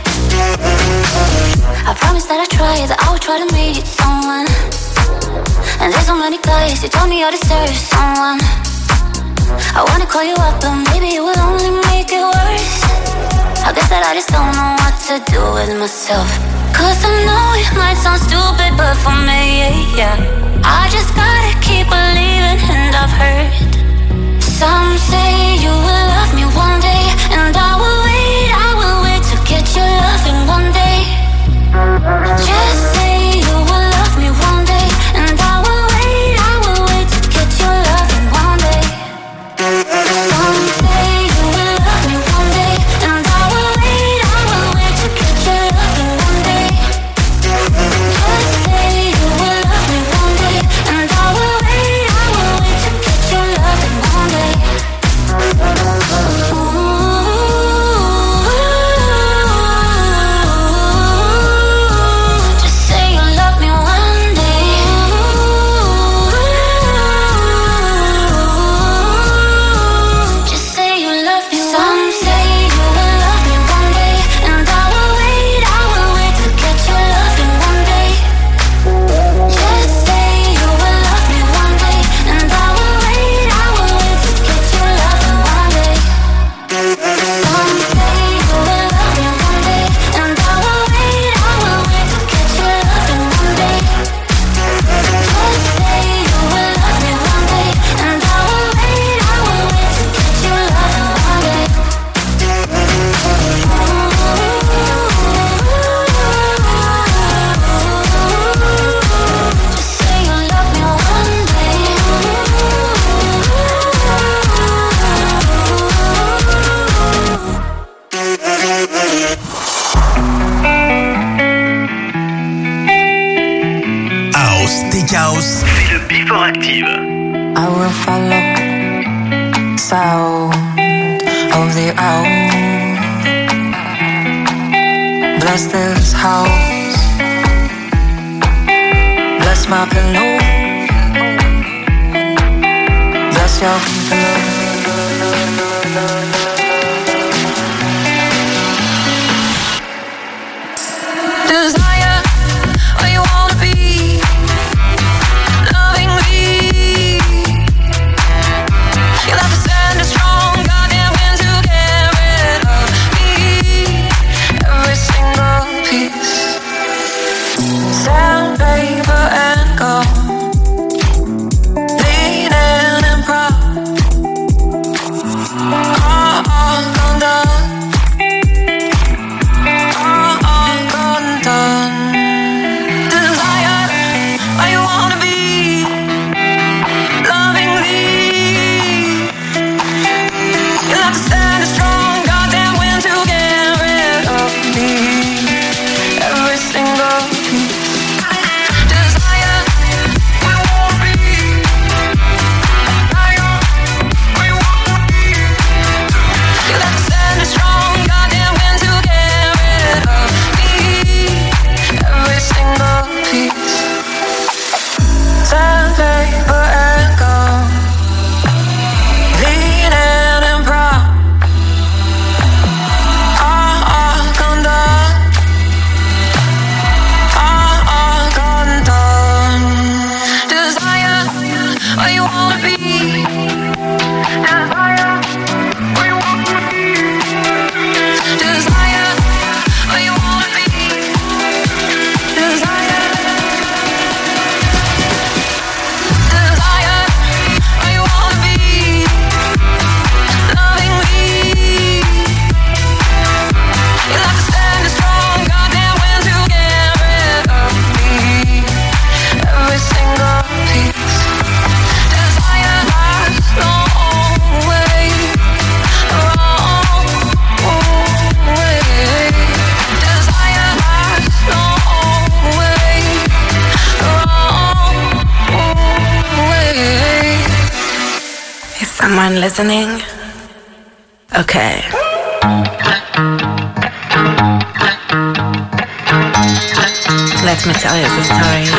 I promise that I will try to meet someone. And there's so many guys, you told me I deserve someone. I wanna call you up, but maybe it will only make it worse. I guess that I just don't know what to do with myself. 'Cause I know it might sound stupid, but for me, yeah, I just gotta keep believing, and I've heard some say you will love me one day, and I will wait to get your loving one day. Just say you will love me one day, and I will wait to get your loving one day. Some say you will love me one day, and I will wait to get your loving one day. Just say you will love me one day, and I will wait to get your loving one day. Just say you love me one day. Just say you love me. Some say you will love me one day, and I will wait to get your loving one day. Just say you will love me one day, and I will wait to get your loving one day. Some say you will love me one day, and I will wait to get your loving one day. Just say you will love me one day, and I will wait to get your loving one day. Just say you love me one day. House, Tech House, c'est le Before Active. I will follow sound of the owl. Bless this house, bless my pillow, bless your pillow. everyone listening? Okay. Let me tell you the story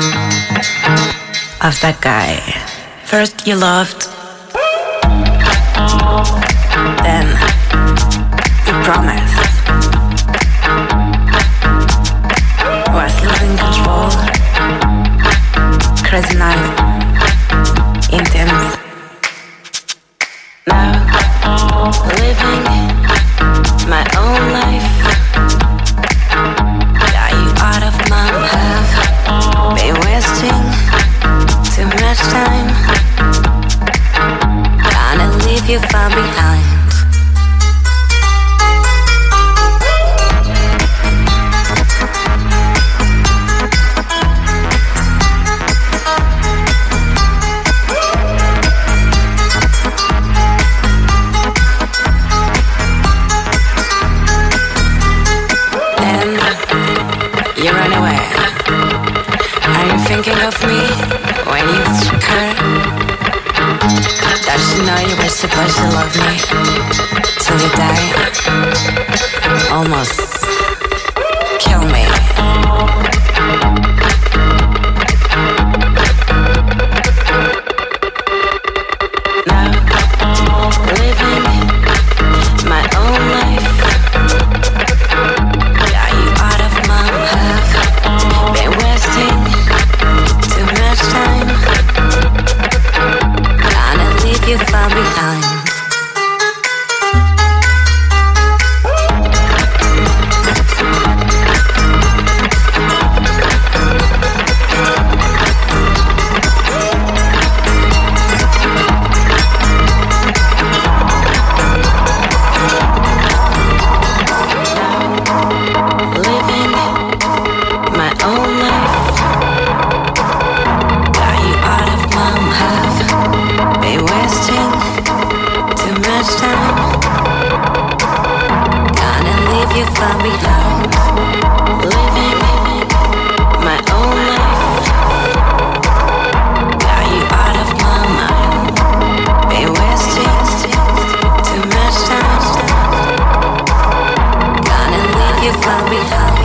of that guy. First you loved, then you promised. Was losing control, crazy night, intense. Now, living my own life. Got you out of my path. Been wasting too much time. Gonna leave you far behind. You run away. Are you thinking of me when you hurt? Does she know you were supposed to love me till you die? Almost kill me. Now, living my own life. Been wasting too much time. Gonna leave you far behind. You far behind. Living my own life. Got you out of my mind. Been wasting too much time. Gonna leave you far behind.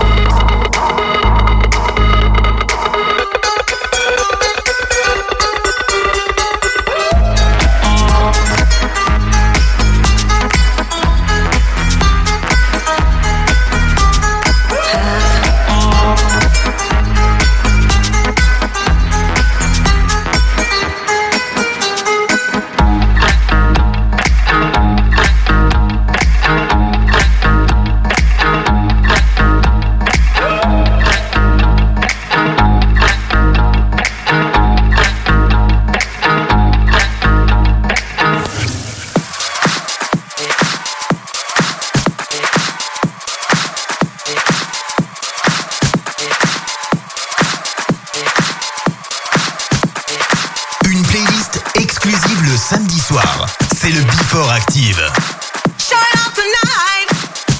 Samedi soir, c'est le Before Active. Show it out tonight,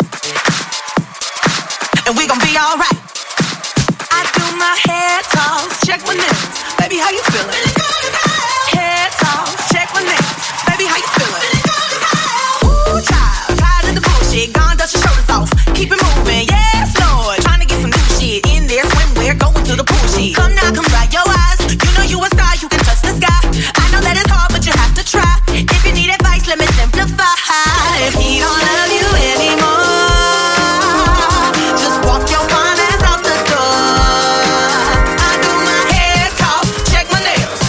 and we gon' be alright. I do my head toss, check my nails, baby how you feeling? Head toss, check my nails, baby how you feeling? Ooh child, tired of the bullshit, gone dust your shoulders off, keep it moving, yes Lord. Trying to get some new shit in there, swimwear, going to the pool shit. Come now, come dry your eyes, you know you a star, you can touch the sky. I know that it's hard, but you have to try. If you need advice, let me simplify. If he don't love you anymore, just walk your fine ass out the door. I do my hair talk, check my nails,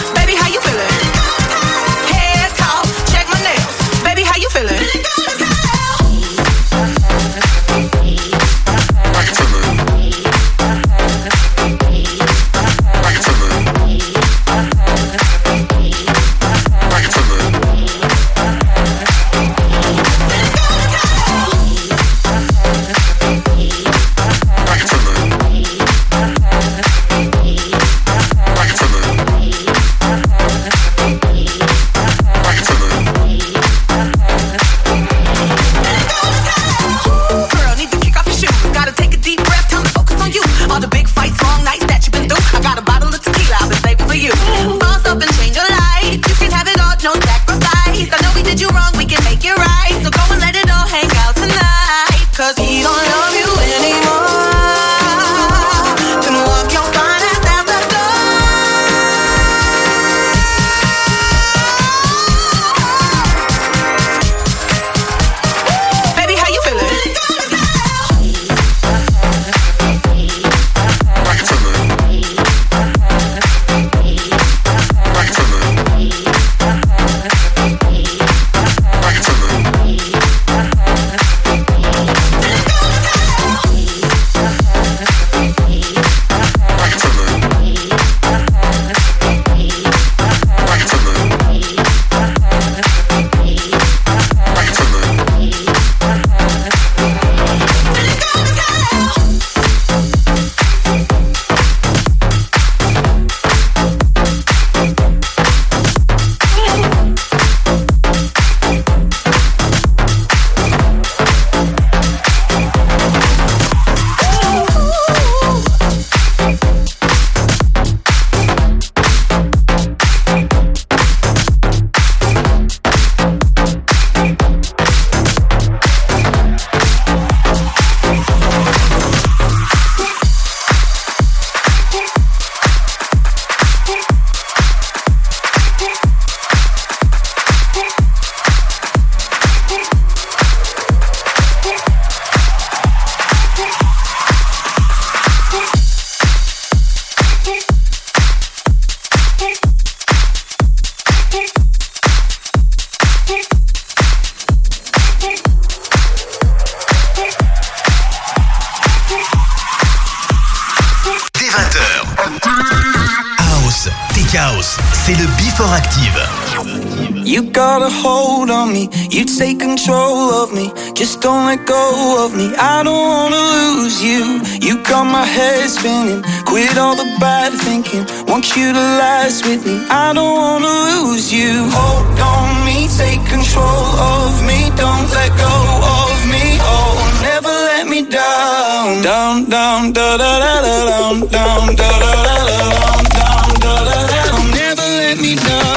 20h. House, Tech House, c'est le Before Active. You got a hold on me, you take control of me. Just don't let go of me, I don't wanna lose you. You got my head spinning, quit all the bad thinking. Want you to last with me, I don't wanna lose you. Hold on me, take control of me. Don't let go of me, oh, never let me down. Down, down, da da da da down, down, da da da da down, down, da da da. Don't never let me down.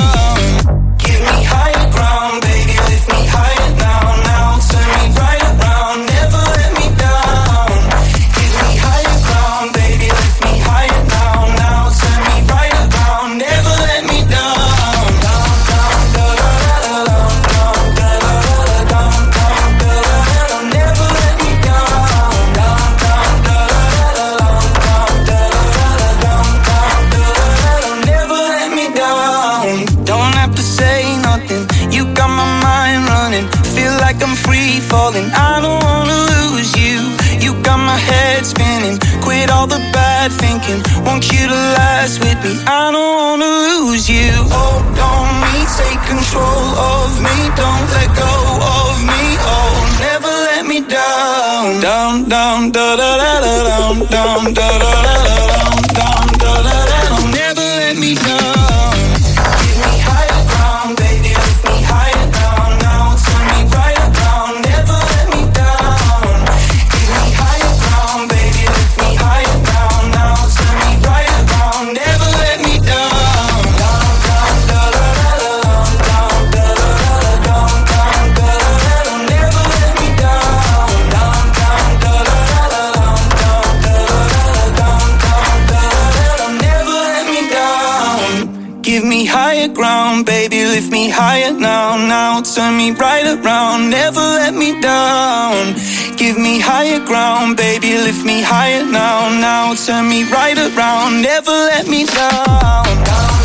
Falling, I don't wanna lose you. You got my head spinning, quit all the bad thinking. Want you to last with me, I don't wanna lose you. Hold on me, take control of me. Don't let go of me, oh, never let me down. Down, down, da da da da down, down, da da da da down, down, da da da. Don't never let me down. Give me higher ground, baby, lift me higher down. Now turn me right around. Ground, baby, lift me higher now, now turn me right around, never let me down. Give me higher ground, baby, lift me higher now, now turn me right around, never let me down.